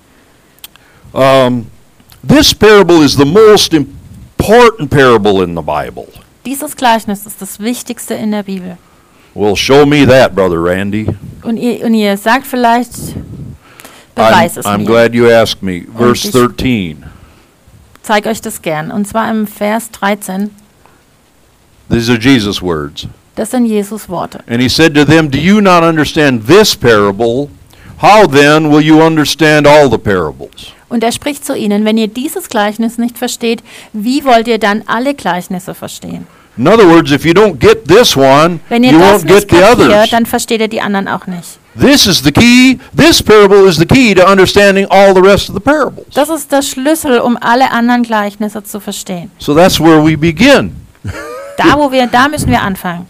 Um, this parable is the most important parable in the Bible. Dieses Gleichnis ist das Wichtigste in der Bibel. Well, show me that, Brother Randy. Und ihr, und ihr sagt vielleicht, beweis I'm, es I'm mir. glad you asked me. Verse ich- thirteen. Zeig euch das gern. Und zwar im Vers dreizehn. These are Jesus' words. Das sind Jesus Worte. And he said to them, do you not understand this parable? How then will you understand all the parables? Und er spricht zu ihnen, wenn ihr dieses Gleichnis nicht versteht, wie wollt ihr dann alle Gleichnisse verstehen? In other words, if you don't get this one, Wenn ihr you das won't get nicht the others. kapiert, dann versteht ihr die anderen auch nicht. This is the key. This parable is the key to understanding all the rest of the parables. Das ist der Schlüssel, um alle anderen Gleichnisse zu verstehen. So that's where we begin. Da, wo wir, da müssen wir anfangen.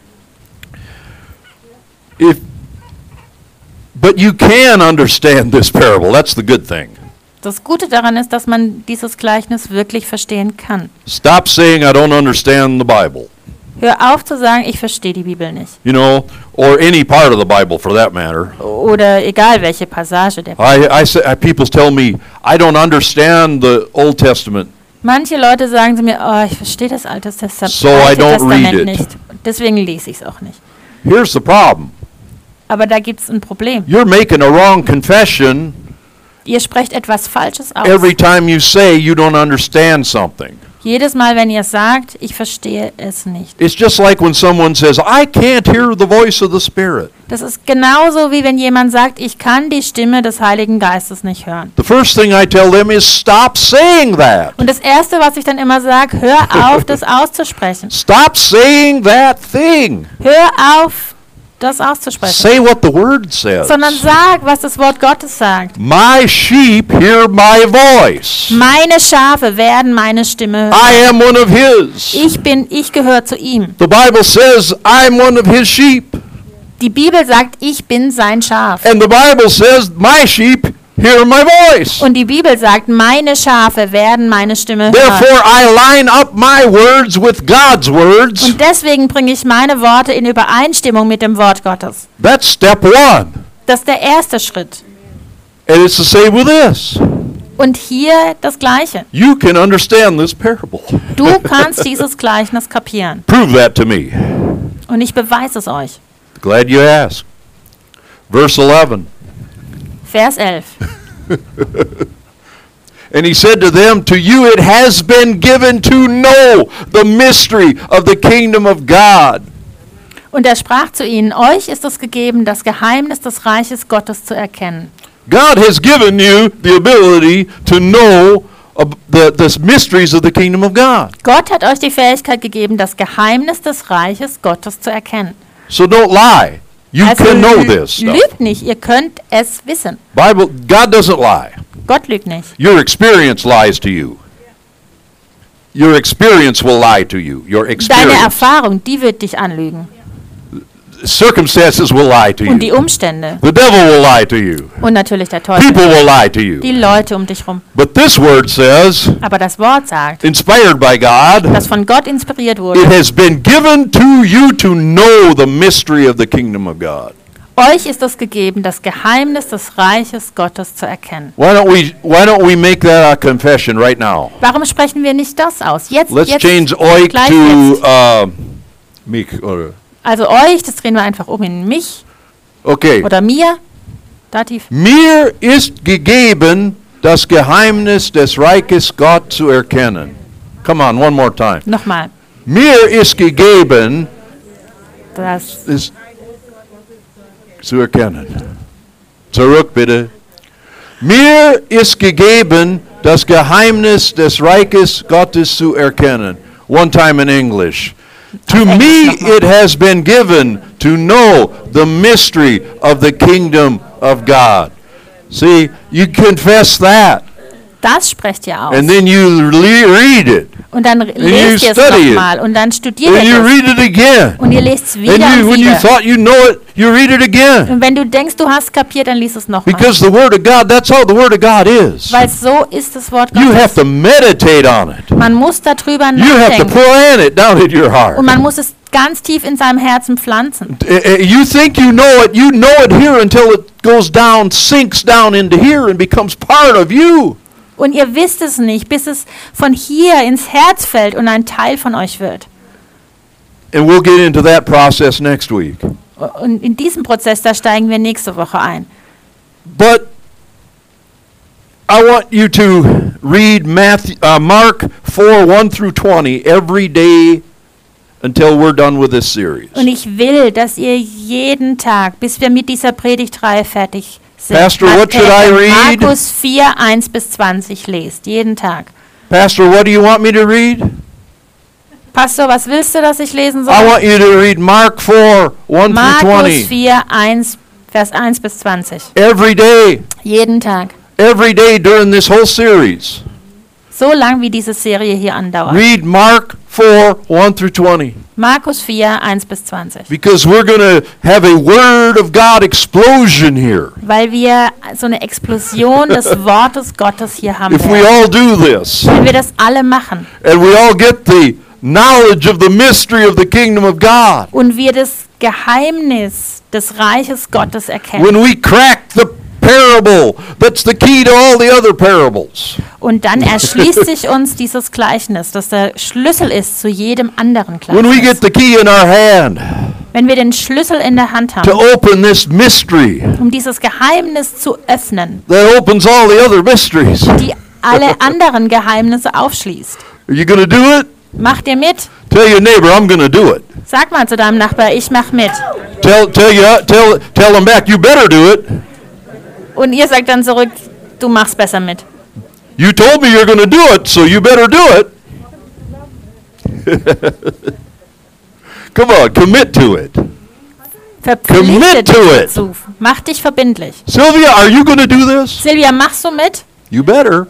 If, but you can understand this parable. That's the good thing. Das Gute daran ist, dass man dieses Gleichnis wirklich verstehen kann. Stop saying I don't understand the Bible. Hör auf zu sagen, ich verstehe die Bibel nicht. You know, or any part of the Bible for that matter. Oder egal welche Passage der I, I say, I, people tell me I don't understand the Old Testament. Manche Leute sagen zu mir, oh, ich verstehe das Alte Testa- So I Alte don't Testament read it. nicht. Deswegen lese ich es auch nicht. Here's the problem. Aber da gibt es ein Problem. You're making a wrong confession Ihr sprecht etwas Falsches aus. every time you say you don't understand something. Jedes Mal, wenn ihr sagt, ich verstehe es nicht. It's just like when someone says, I can't hear the voice of the Spirit. Das ist genauso, wie wenn jemand sagt, ich kann die Stimme des Heiligen Geistes nicht hören. The first thing I tell them is stop saying that. Und das Erste, was ich dann immer sage, hör auf, das auszusprechen. Stop saying that thing. Hör auf, das auszusprechen. Say what the Word says. Sondern sag, was das Wort Gottes sagt. My sheep hear my voice. Meine Schafe werden meine Stimme hören. I am one of His. Ich bin, ich gehöre zu ihm. The Bible says I'm one of His sheep. Die Bibel sagt, ich bin sein Schaf. And the Bible says my sheep hear my voice. Und die Bibel sagt, meine Schafe werden meine Stimme hören. Therefore I line up my words with God's words. Und deswegen bringe ich meine Worte in Übereinstimmung mit dem Wort Gottes. That's step one. Das ist der erste Schritt. And it's the same with this. Und hier das Gleiche. You can understand this parable. Du kannst dieses Gleichnis kapieren. Prove that to me. Und ich beweise es euch. Glad you asked. Verse eleven. Vers elf. And he said to them, to you it has been given to know the mystery of the kingdom of God. Und er sprach zu ihnen, euch ist es gegeben, das Geheimnis des Reiches Gottes zu erkennen. God has given you the ability to know of the, the mysteries of the kingdom of God. Gott hat euch die Fähigkeit gegeben, das Geheimnis des Reiches Gottes zu erkennen. So don't lie. You Also can know lü- this stuff. lügt nicht, ihr könnt es wissen. Bible, God doesn't lie. Gott lügt nicht. Your experience lies to you. Your experience will lie to you. Your Deine experience. Erfahrung, die wird dich anlügen. Circumstances will lie to Und die you. Umstände. The devil will lie to you. Und natürlich der Teufel. People will lie to Die you. Leute um dich rum. But this word says, Aber das Wort sagt, inspired by God, das von Gott inspiriert it wurde. has been given to you to know the mystery of the kingdom of God. Euch ist es gegeben, das Geheimnis des Reiches Gottes zu erkennen. Why don't we why don't we make that our confession right now? Warum sprechen wir nicht das aus? Jetzt, Let's jetzt, change euch gleich to jetzt. uh, mich or Also euch, das drehen wir einfach um in mich okay. oder mir. Dativ. Mir ist gegeben, das Geheimnis des Reiches Gott zu erkennen. Come on, one more time. Nochmal. Mir ist gegeben, Das es zu erkennen. Zurück bitte. Mir ist gegeben, das Geheimnis des Reiches Gottes zu erkennen. One time in English. To me it has been given to know the mystery of the kingdom of God. See, you confess that, Das sprecht ihr aus. and then you le- read it, Und dann lest ihr es study it. nochmal und dann studiert and you ihr es. read it again. Und ihr lest es And wieder you, und when you wieder. thought you know it, you read it again. Und wenn du denkst, du hast kapiert, dann liest es nochmal. Because the Word of God, that's how the Word of God is. Weil so ist das Wort You have Gottes. to meditate on it. Man muss darüber You have to nachdenken. plant it down in your heart. Und man muss es ganz tief in seinem Herzen pflanzen. Uh, uh, You think you know it, you know it here until it goes down, sinks down into here and becomes part of you. Und ihr wisst es nicht, bis es von hier ins Herz fällt und ein Teil von euch wird. And we'll get into that process next week. Und in diesem Prozess, da steigen wir nächste Woche ein. But I want you to read Matthew, uh, Mark four, one through twenty every day until we're done with this series. Und ich will, dass ihr jeden Tag, bis wir mit dieser Predigtreihe fertig sind, Pastor, what should I read? Markus vier, eins bis zwanzig lest, jeden Tag. Pastor, what do you want me to read? Pastor, was willst du, dass ich lesen soll? I want you to read Mark four, one through Markus twenty. vier, eins, Vers eins bis zwanzig. Every day, Jeden Tag. every day during this whole series. So lang wie diese Serie hier andauert. Read Mark four, one through twenty. Markus vier, eins bis zwanzig. Because we're going to have a Word of God explosion here. Weil wir so eine Explosion des Wortes Gottes hier haben If we werden. all do this, Wenn wir das alle machen and we all get the knowledge of the mystery of the kingdom of God. und wir das Geheimnis des Reiches Gottes erkennen When we crack the parable, that's the key to all the other parables. und dann erschließt sich uns dieses Gleichnis, das der Schlüssel ist zu jedem anderen When we get Gleichnis. the key in our hand Wenn wir den Schlüssel in der Hand to haben, open this mystery um dieses Geheimnis zu öffnen, that opens all the other mysteries. die alle anderen Geheimnisse aufschließt. Are you going to do it? Macht ihr mit? Tell your neighbor, I'm going to do it. Sag mal zu deinem Nachbar, ich mach mit. Tell tell you tell tell them back, you better do it. Und ihr sagt dann zurück, du machst besser mit. You told me you're going to do it, so you better do it. Come on, commit to it. Verpflichte Commit to dich it. dazu. Mach dich verbindlich. Sylvia, are you going to do this? Silvia, machst du mit? You better.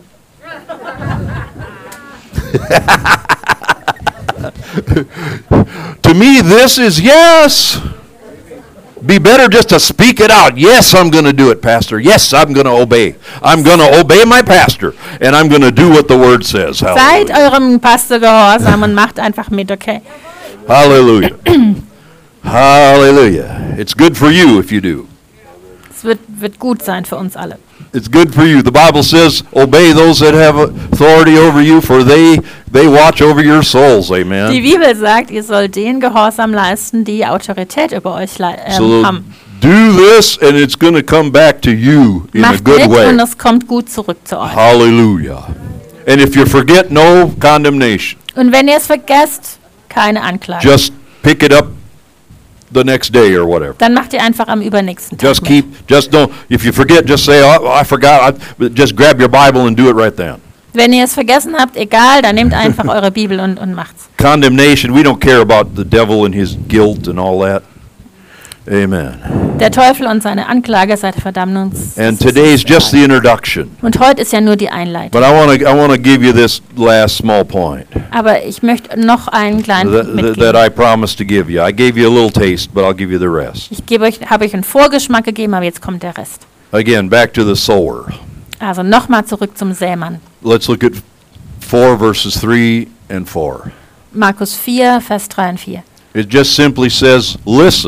To me, this is yes. Be better just to speak it out. Yes, I'm going to do it, Pastor. Yes, I'm going to obey. I'm going to obey my pastor, and I'm going to do what the Word says. Seid Hallelujah. eurem Pastor gehorsam und macht einfach mit, okay? Hallelujah. Hallelujah. It's good for you if you do. Es wird, wird gut sein für uns alle. It's good for you. The Bible says, obey those that have authority over you, for they they watch over your souls. Die Amen. Bibel sagt, ihr sollt den Gehorsam leisten, die Autorität über euch lei- ähm, So haben. do this, and it's going to come back to you in a Macht good mit way. und es kommt gut zurück zu euch. Hallelujah. And if you forget, no condemnation. Und wenn ihr es vergesst, keine Anklage. Just pick it up the next day or whatever. Dann macht ihr einfach am übernächsten Tag Just mit. keep, just don't, if you forget, just say, oh, I forgot. I, just grab your Bible and do it right then. Wenn ihr es vergessen habt, egal, dann nehmt einfach eure Bibel und, und macht's. Condemnation, we don't care about the devil and his guilt and all that. Amen. Der Teufel und seine Anklage seid verdammt uns. And das ist today's uns just egal. the introduction. Und heute ist ja nur die Einleitung. But I want to I want to give you this last small point Aber ich möchte noch einen kleinen that, Punkt that, that mitgeben. I promised to give you. I gave you a little taste, but I'll give you the rest. Ich gebe euch, habe euch einen Vorgeschmack gegeben, aber jetzt kommt der Rest. Again, back to the sower. Also nochmal zurück zum Sämann. Let's look at four verses three and four. Markus vier, Vers drei und vier. It just simply says, listen.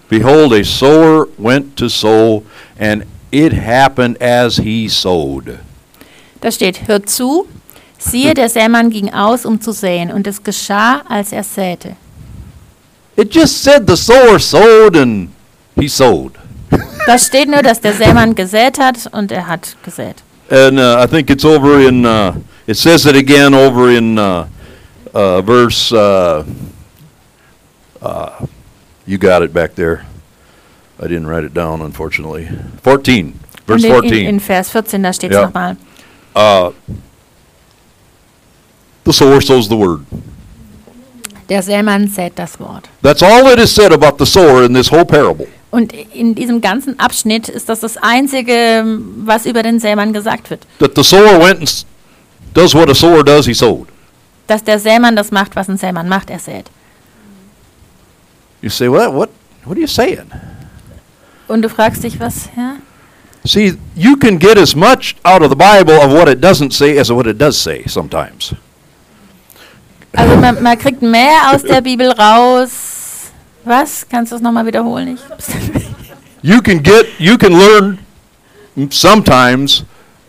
Behold, a sower went to sow, and it happened as he sowed. Da steht, hört zu, siehe, der Sämann ging aus, um zu säen, und es geschah, als er säte. It just said the sower sowed and he sowed. Da steht nur, dass der Sämann gesät hat und er hat gesät. And uh, I think it's over in, uh, it says it again over in uh, uh, verse, uh, uh, you got it back there. I didn't write it down, unfortunately. fourteen, verse Und in, fourteen. in, in Vers vierzehn, da steht es Ja. nochmal. Uh, the sower sows the word. Der Sämann sät das Wort. That's all it is said about the sower in this whole parable. Und in diesem ganzen Abschnitt ist das das Einzige, was über den Sämann gesagt wird. That the sower went and s- does what a sower does, he sowed. Dass der Sämann das macht, was ein Sämann macht, er sät. You say, what, what, what are you saying? Und du fragst dich, was, ja? See, you can get as much out of the Bible of what it doesn't say as what it does say sometimes. Also man, man kriegt mehr aus der Bibel raus. Was? Kannst du es nochmal wiederholen? Ich You can get, you can learn sometimes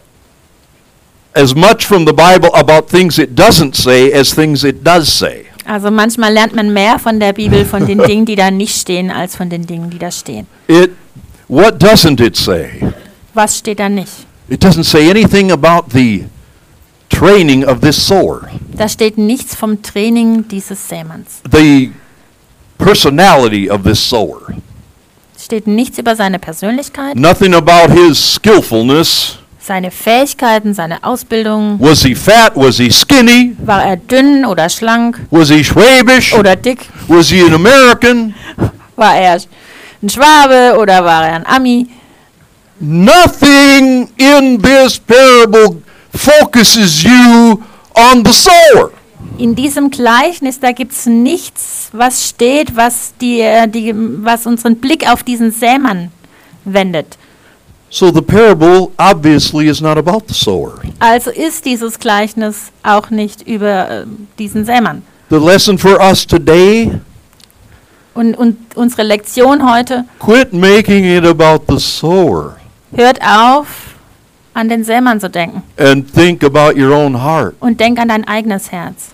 as much from the Bible about things it doesn't say as things it does say. Also manchmal lernt man mehr von der Bibel, von den Dingen, die da nicht stehen, als von den Dingen, die da stehen. It, what doesn't it say? Was steht da nicht? It doesn't say anything about the training of this sower, Da steht nichts vom Training dieses Sämanns. the personality of this sower. Steht nichts über seine Persönlichkeit, Nothing about his skillfulness. seine Fähigkeiten, seine Ausbildung. Was he fat? Was he skinny? War er dünn oder schlank Was he Schwäbisch? oder dick? Was he an American? War er ein Schwabe oder war er ein Ami? Nothing in this parable focuses you on the sower. In diesem Gleichnis, da gibt es nichts, was steht, was, die, äh, die, was unseren Blick auf diesen Sämann wendet. So the parable obviously is not about the sower. Also ist dieses Gleichnis auch nicht über äh, diesen Sämann. The lesson for us today, Und, und unsere Lektion heute, quit making it about the sower hört auf, an den Sämann zu denken and think about your own heart. und denk an dein eigenes Herz.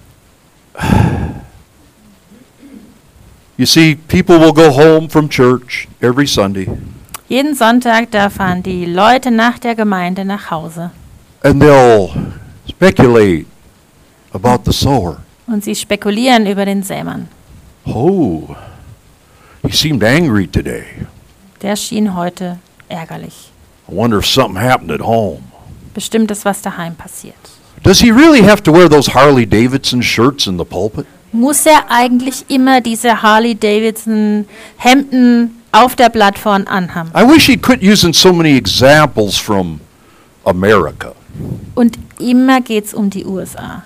You see, people will go home from church every Sunday Jeden Sonntag, da fahren die Leute nach der Gemeinde nach Hause and they'll speculate about the sower. und sie spekulieren über den Sämann. Oh, he seemed angry today. Der schien heute ärgerlich. I wonder if something happened at home. Bestimmt ist was daheim passiert. Does he really have to wear those Harley Davidson shirts in the pulpit? Muss er eigentlich immer diese Harley-Davidson Hemden auf der Plattform anhaben? I wish he'd quit using so many examples from America. Und immer geht's um die U S A.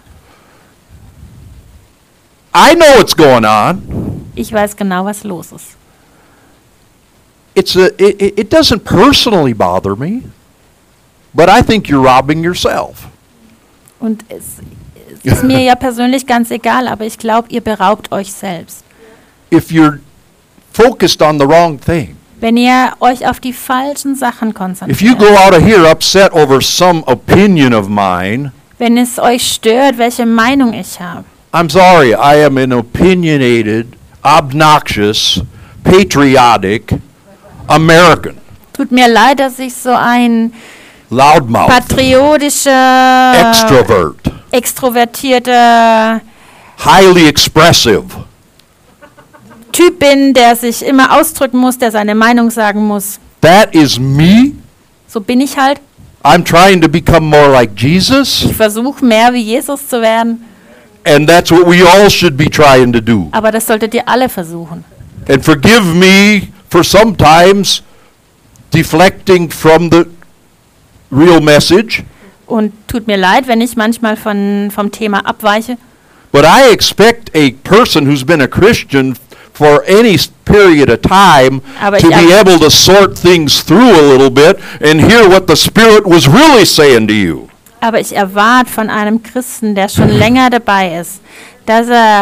I know what's going on. Ich weiß genau, was los ist. It's a, it, it it doesn't personally bother me, but I think you're robbing yourself. Und es, es ist mir ja persönlich ganz egal, aber ich glaube, ihr beraubt euch selbst. If you're focused on the wrong thing, Wenn ihr euch auf die falschen Sachen if you go konzentriert, out of here upset over some opinion of mine, wenn es euch stört, welche Meinung ich habe, I'm sorry, I am an opinionated, obnoxious, patriotic American. tut mir leid, dass ich so ein Loudmouth, patriotischer, extrovert, extrovertierter highly expressive. Typ bin, der sich immer ausdrücken muss, der seine Meinung sagen muss. That is me. So bin ich halt. I'm trying to become more like Jesus, Ich versuche mehr wie Jesus zu werden, and that's what we all should be trying to do. aber das solltet ihr alle versuchen. And forgive me for sometimes deflecting from the real message, Und tut mir leid, wenn ich manchmal von, vom Thema abweiche. but I expect a person who's been a Christian for any s- period of time Aber to ich be erw- able to sort things through a little bit and hear what the Spirit was really saying to you. Aber ich erwarte von einem Christen, der schon länger dabei ist, dass er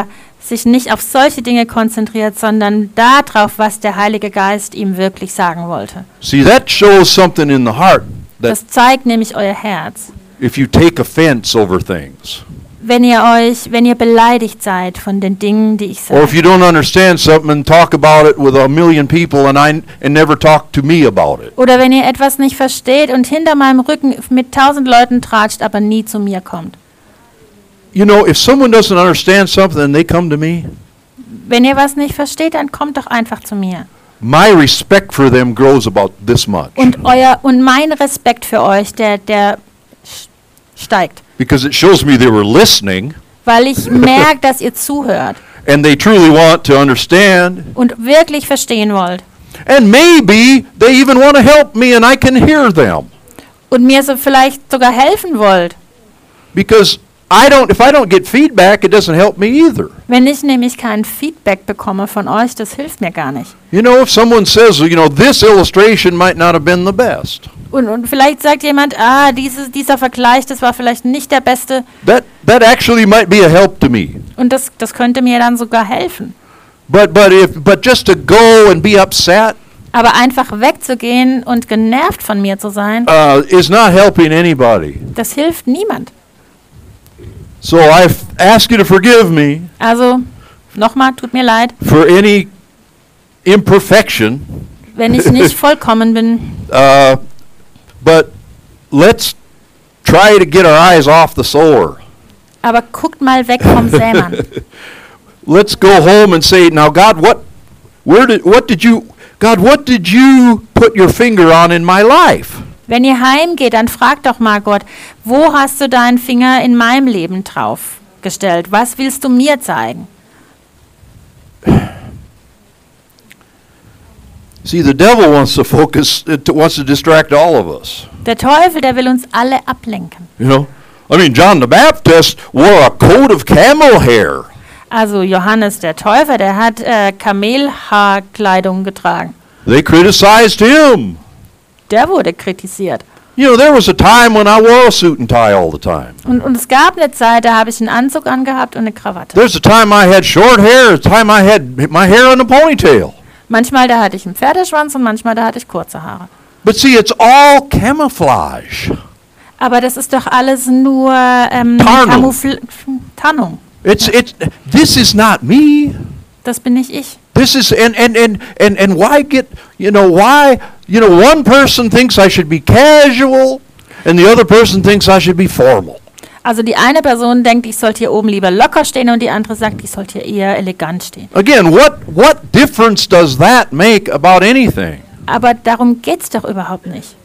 sich nicht auf solche Dinge konzentriert, sondern darauf, was der Heilige Geist ihm wirklich sagen wollte. See, that shows something in the heart that Das zeigt nämlich euer Herz. if you take offense over things, Wenn ihr euch, wenn ihr beleidigt seid von den Dingen, die ich or if sage, you don't understand something and talk about it with a million people and I and never talk to me about it. oder wenn ihr etwas nicht versteht und hinter meinem Rücken mit tausend Leuten tratscht, aber nie zu mir kommt. You know, if someone doesn't understand something and they come to me, Wenn ihr was nicht versteht, dann kommt doch einfach zu mir. my respect for them grows about this much. Und euer und mein Respekt für euch, der der sch- steigt, Because it shows me they were listening weil ich merke, dass ihr zuhört and they truly want to understand. und wirklich verstehen wollt And maybe they even want to help me and I can hear them. und mir so vielleicht sogar helfen wollt. Because I don't, if I don't get feedback, it doesn't help me either. Wenn ich nämlich kein Feedback bekomme von euch, das hilft mir gar nicht. You know, if someone says, you know, this illustration might not have been the best, Und, und vielleicht sagt jemand, ah, dieses, dieser Vergleich, das war vielleicht nicht der beste. that, that actually might be a help to me. Und das, das könnte mir dann sogar helfen. But, but, if, but just to go and be upset Aber einfach wegzugehen und genervt von mir zu sein, uh, is not helping anybody. das hilft niemand. So I f- ask you to forgive me Also, nochmal, tut mir leid, for any imperfection, wenn ich nicht vollkommen bin. uh, but let's try to get our eyes off the sower. Aber guckt mal weg vom Sämann. Let's go home and say, now God, what, where did, what did you, God, what did you put your finger on in my life? Wenn ihr heimgeht, dann fragt doch mal Gott, wo hast du deinen Finger in meinem Leben drauf gestellt? Was willst du mir zeigen? See, the devil wants to focus, uh, to, wants to distract all of us. Der Teufel, der will uns alle ablenken. You know, I mean, John the Baptist wore a coat of camel hair. Also Johannes der Täufer, der hat äh, Kamelhaarkleidung getragen. They criticized him. Der wurde kritisiert. You know, there was a time when I wore a suit and tie all the time. Und, und es gab eine Zeit, da habe ich einen Anzug angehabt und eine Krawatte. There's a time I had short hair, a time I had my hair in a ponytail. Manchmal da hatte ich einen Pferdeschwanz und manchmal da hatte ich kurze Haare. But see, it's all camouflage. Aber das ist doch alles nur ähm, Tarnung. Camoufl- Tarnung. It's it's this is not me. Das bin nicht ich. This is and and and and and why get, you know, why, you know, one person thinks I should be casual and the other person thinks I should be formal. Also die eine Person denkt, ich sollte hier oben lieber locker stehen und die andere sagt, ich sollte hier eher elegant stehen. Again, what what difference does that make about anything? Aber darum geht's doch überhaupt nicht.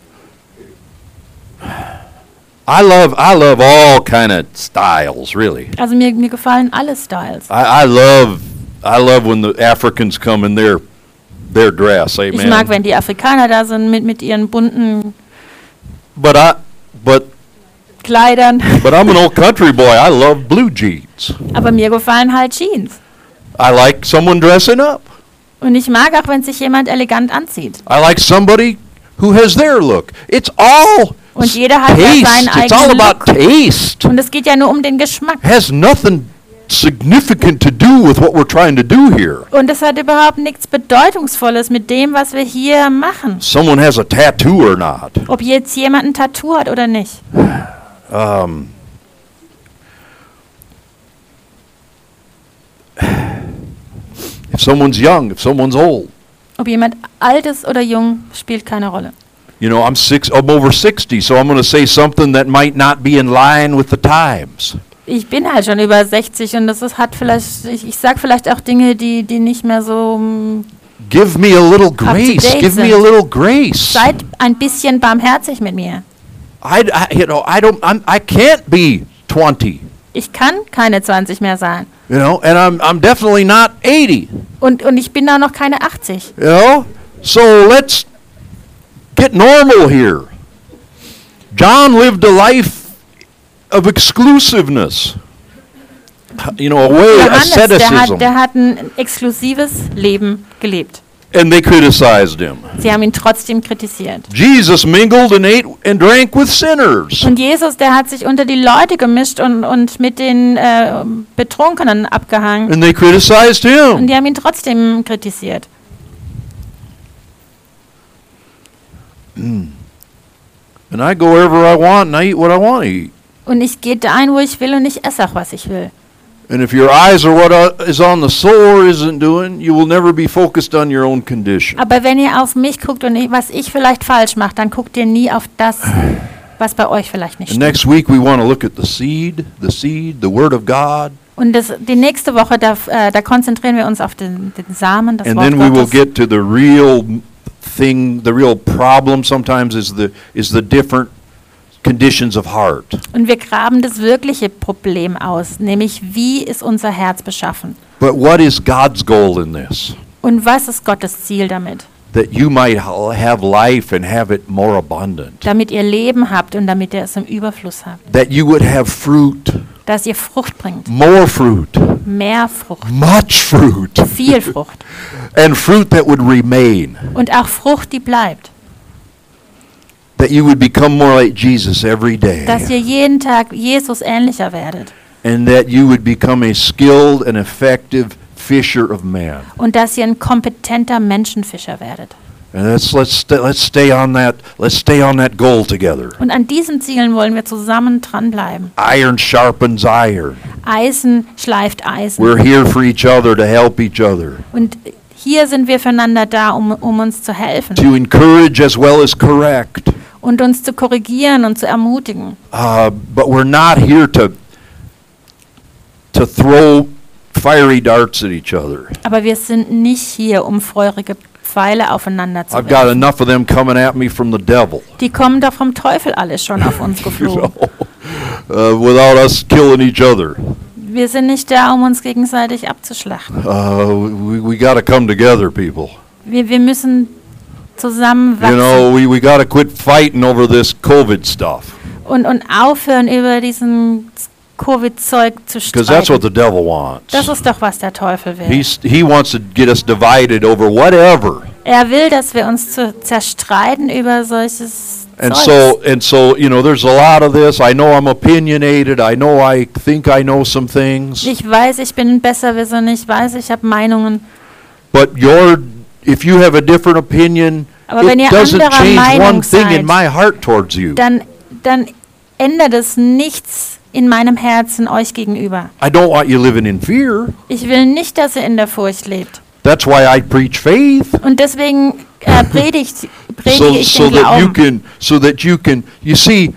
I love I love all kind of styles, really. Also mir, mir gefallen alle Styles. I, I love I love when the Africans come in their their dress. Ich mag, Amen. wenn die Afrikaner da sind mit, mit ihren bunten But I but Kleidern. but I'm an old country boy. I love blue jeans. Aber mir gefallen halt Jeans. I like someone dressing up. Und ich mag auch, wenn sich jemand elegant anzieht. I like somebody who has their look. It's all Und jeder hat ja seinen taste. It's all eigenen about Look. taste. Und es geht ja nur um den Geschmack. Has nothing significant to do with what we're trying to do here. Und es hat überhaupt nichts Bedeutungsvolles mit dem, was wir hier machen. Someone has a tattoo or not. Ob jetzt jemand ein Tattoo hat oder nicht. Um, if someone's young, if someone's old. Ob jemand alt ist oder jung, spielt keine Rolle. You know, I'm six. I'm over sixty, so I'm going to say something that might not be in line with the times. Ich bin halt schon über sechzig und das ist, hat vielleicht, ich, ich sag vielleicht auch Dinge, die, die nicht mehr so, mm, Give me a little grace. date Give me a sind. little grace. seid ein bisschen barmherzig mit mir. I, I you know, I don't. I'm, I can't be twenty. Ich kann keine zwanzig mehr sein. You know, and I'm I'm definitely not eighty. Und, und ich bin da noch keine achtzig. You know, so let's get normal here. John lived a life of exclusiveness. You know, a way Johannes, der asceticism. hat, der hat ein exklusives Leben gelebt. And they criticized him. Sie haben ihn trotzdem kritisiert. Jesus mingled and ate and drank with sinners. Und Jesus, der hat sich unter die Leute gemischt und, und mit den äh, Betrunkenen abgehangen. And they criticized Und him. die haben ihn trotzdem kritisiert. And I go wherever I want and I eat what I want to eat. Und ich gehe dahin, wo ich will und ich esse auch, was ich will. And if your eyes are what uh, is on the soul or isn't doing, you will never be focused on your own condition. Aber wenn ihr auf mich guckt und ich, was ich vielleicht falsch mache, dann guckt ihr nie auf das, was bei euch vielleicht nicht And stimmt. next week we want to look at the seed, the seed, the word of God. Und das, die nächste Woche, da, äh, da konzentrieren wir uns auf den, den Samen, das And Wort then we will Gottes. get to the real thing, the real problem sometimes is the is the different conditions of heart. Und wir graben das wirkliche Problem aus, nämlich wie ist unser Herz beschaffen? But what is God's goal in this? Und was ist Gottes Ziel damit? That you might ha- have life and have it more abundant. Damit ihr Leben habt und damit ihr es im Überfluss habt. That you would have fruit, Dass ihr Frucht bringt. more fruit, Mehr Frucht. much fruit, Viel Frucht. and fruit that would remain. Und auch Frucht, die bleibt. That you would become more like Jesus every day. Dass ihr jeden Tag Jesus ähnlicher werdet. And that you would become a skilled and effective fisher of man. Und dass ihr ein kompetenter Menschenfischer werdet. And let's let's st- let's stay on that let's stay on that goal together. Und an diesen Zielen wollen wir zusammen dranbleiben. Iron sharpens iron. Eisen schleift Eisen. We're here for each other to help each other, Und hier sind wir füreinander da, um, um uns zu helfen. to encourage as well as correct. Und uns zu korrigieren und zu ermutigen. Uh, but we're not here to to throw fiery darts at each other. Aber wir sind nicht hier, um feurige Pfeile aufeinander zu I've got werfen. enough of them coming at me from the devil. Die kommen doch vom Teufel alle schon auf uns You geflogen. know, uh, without us killing each other. Wir sind nicht da, um uns gegenseitig abzuschlachten. Uh, we we got to come together, people. Wir, wir müssen zusammen You wachsen know, we, we got to quit fighting over this COVID stuff, und, und aufhören, über diesen Covid-Zeug zu because that's what streiten. the devil wants. Das ist doch, was der Teufel will. He's, he wants to get us divided over whatever. Er will, dass wir uns zu zerstreiten über solches And Zeugs. so, and so, you know, there's a lot of this. I know I'm opinionated. I know I think I know some things. Ich weiß, ich bin ein Besserwisser, ich weiß, ich habe Meinungen. But your, if you have a different opinion, Aber wenn it ihr doesn't anderer change one Meinung thing seid, in my heart towards you. Dann, dann ändert es nichts in meinem Herzen euch gegenüber. I don't want you living in fear. Ich will nicht, dass ihr in der Furcht lebt. That's why I preach faith. Und deswegen äh, predigt, predige So, ich so den that you Glauben. can, so that you can, you see,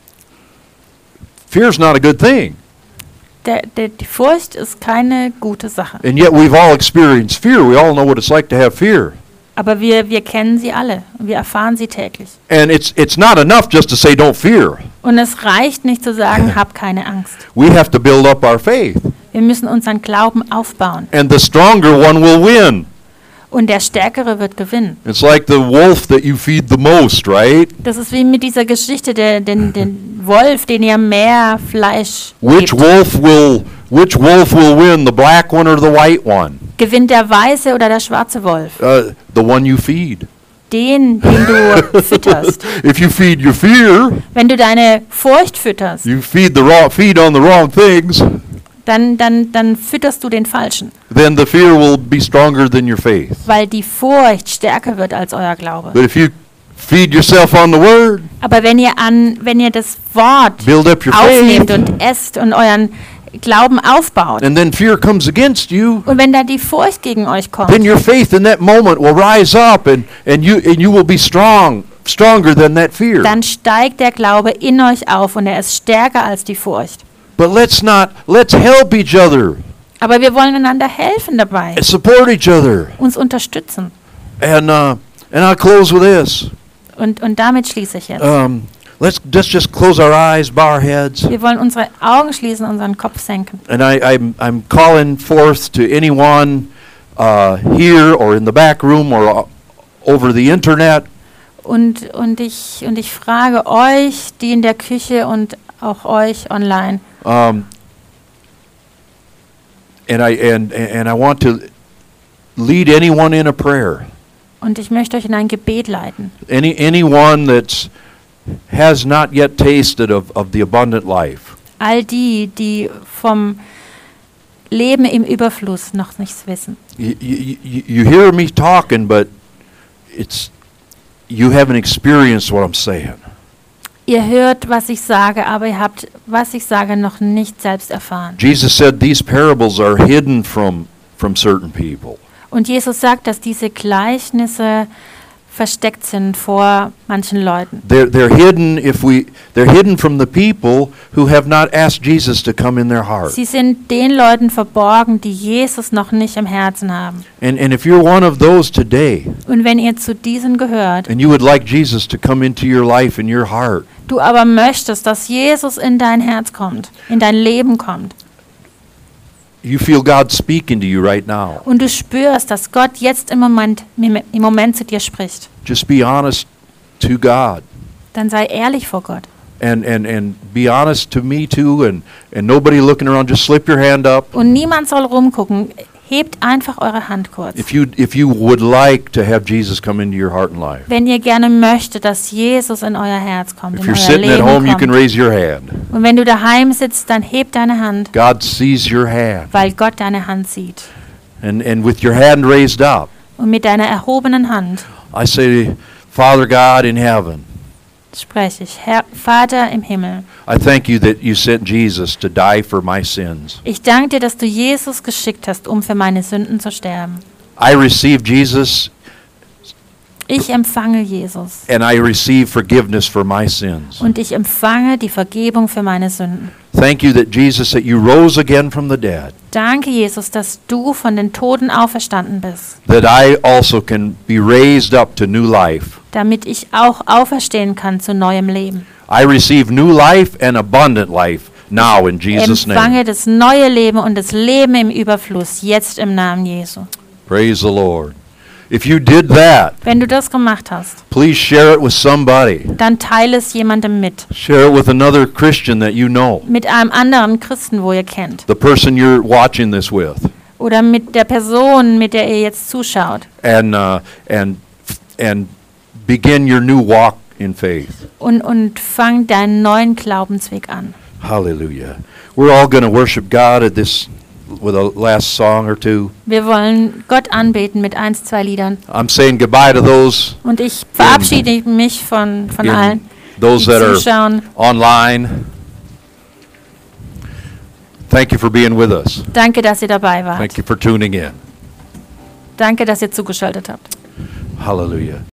fear's not a good thing. Der, der, die Furcht ist keine gute Sache. And yet we've all experienced fear. We all know what it's like to have fear. Aber wir, wir kennen sie alle. Wir erfahren sie täglich. And it's it's not enough just to say don't fear. Und es reicht nicht zu sagen, hab keine Angst. We have to build up our faith. Wir müssen unseren Glauben aufbauen. And the stronger one will win. Und der Stärkere wird gewinnen. It's like the wolf that you feed the most, right? Das ist wie mit dieser Geschichte, der, den, den Wolf, den ihr mehr Fleisch Which gebt. wolf will which wolf will win, the black one or the white one? Gewinnt der weiße oder der schwarze Wolf? Uh, the one you feed. Den, den du fütterst. If you feed your fear, Wenn du deine Furcht fütterst, you feed the wrong feed on the wrong things, dann, dann, dann fütterst du den Falschen. then the fear will be stronger than your faith. Weil die Furcht stärker wird als euer Glaube. But if you feed yourself on the word, Aber wenn ihr an, wenn ihr das Wort build up your aufnehmt faith, und esst und euren Glauben aufbaut, and then fear comes against you, und wenn da die Furcht gegen euch kommt, then your faith in that moment will rise up and, and you and you will be strong, stronger than that fear. dann steigt der Glaube in euch auf und er ist stärker als die Furcht. But let's not let's help each other Aber wir wollen einander helfen dabei, and support each other. uns unterstützen. And uh, and I'll close with this. Und, und damit schließe ich jetzt. Um, let's let's just close our eyes, bow our heads. Wir wollen unsere Augen schließen, unseren Kopf senken. And I, I'm I'm calling forth to anyone uh, here or in the back room or uh, over the internet. Und, und, ich, und ich frage euch, die in der Küche und auch euch online, Um, and I and and I want to lead anyone in a prayer. Und ich möchte euch in ein Gebet leiten. Any anyone that's has not yet tasted of, of the abundant life. All die, die vom Leben im Überfluss noch nichts wissen. You, you, you you hear me talking, but it's you haven't experienced what I'm saying. Ihr hört, was ich sage, aber ihr habt, was ich sage, noch nicht selbst erfahren. Jesus said these parables are hidden from from certain people. Und Jesus sagt, dass diese Gleichnisse versteckt sind vor manchen Leuten. They're they're hidden if we they're hidden from the people who have not asked Jesus to come in their heart. Sie sind den Leuten verborgen, die Jesus noch nicht im Herzen haben. And and if you're one of those today, Und wenn ihr zu diesen gehört, and you would like Jesus to come into your life and your heart, du aber möchtest, dass Jesus in dein Herz kommt, in dein Leben kommt, you feel God speaking to you right now. und du spürst, dass Gott jetzt im Moment, im Moment zu dir spricht, Just be honest to God. dann sei ehrlich vor Gott. And, and, and be honest to me too, and, and nobody looking around, just slip your hand up. Und niemand soll rumgucken. Hebt einfach eure Hand kurz. If you, if you would like to have Jesus come into your heart and life. Wenn ihr gerne möchtet, dass Jesus in euer Herz kommt, If in you're euer sitting at Leben home, you can kommt. raise your hand. Und wenn du daheim sitzt, dann heb deine Hand, God sees your hand. weil Gott deine Hand sieht. And, and with your hand raised up, Und mit deiner erhobenen Hand I say, Father God in heaven, spreche ich, Herr, Vater im Himmel, I thank you that you sent Jesus to die for my sins. ich danke dir, dass du Jesus geschickt hast, um für meine Sünden zu sterben. I receive Jesus Ich empfange Jesus and I receive forgiveness for my sins. und ich empfange die Vergebung für meine Sünden. Thank you that Jesus, that you rose again from the dead, Danke, Jesus, dass du von den Toten auferstanden bist, that I also can be raised up to new life. damit ich auch auferstehen kann zu neuem Leben. I receive new life and abundant life now in Jesus' Empfange name. das neue Leben und das Leben im Überfluss, jetzt im Namen Jesu. Praise the Lord. If you did that, Wenn du das gemacht hast, please share it with somebody. dann teile es jemandem mit. Share it with another Christian that you know, Mit einem anderen Christen, wo ihr kennt. the person you're watching this with. Oder mit der Person, mit der ihr jetzt zuschaut. And, uh, and, and begin your new walk in faith. Und, und fang deinen neuen Glaubensweg an. Hallelujah. We're all going to worship God at this with a last song or two. Wir wollen Gott anbeten mit eins, zwei Liedern. I'm saying goodbye to those Und ich verabschiede mich von, von in- allen, those die that are zuschauen. online. Thank you for being with us. Danke, dass ihr dabei wart. Thank you for tuning in. Danke, dass ihr zugeschaltet habt. Hallelujah.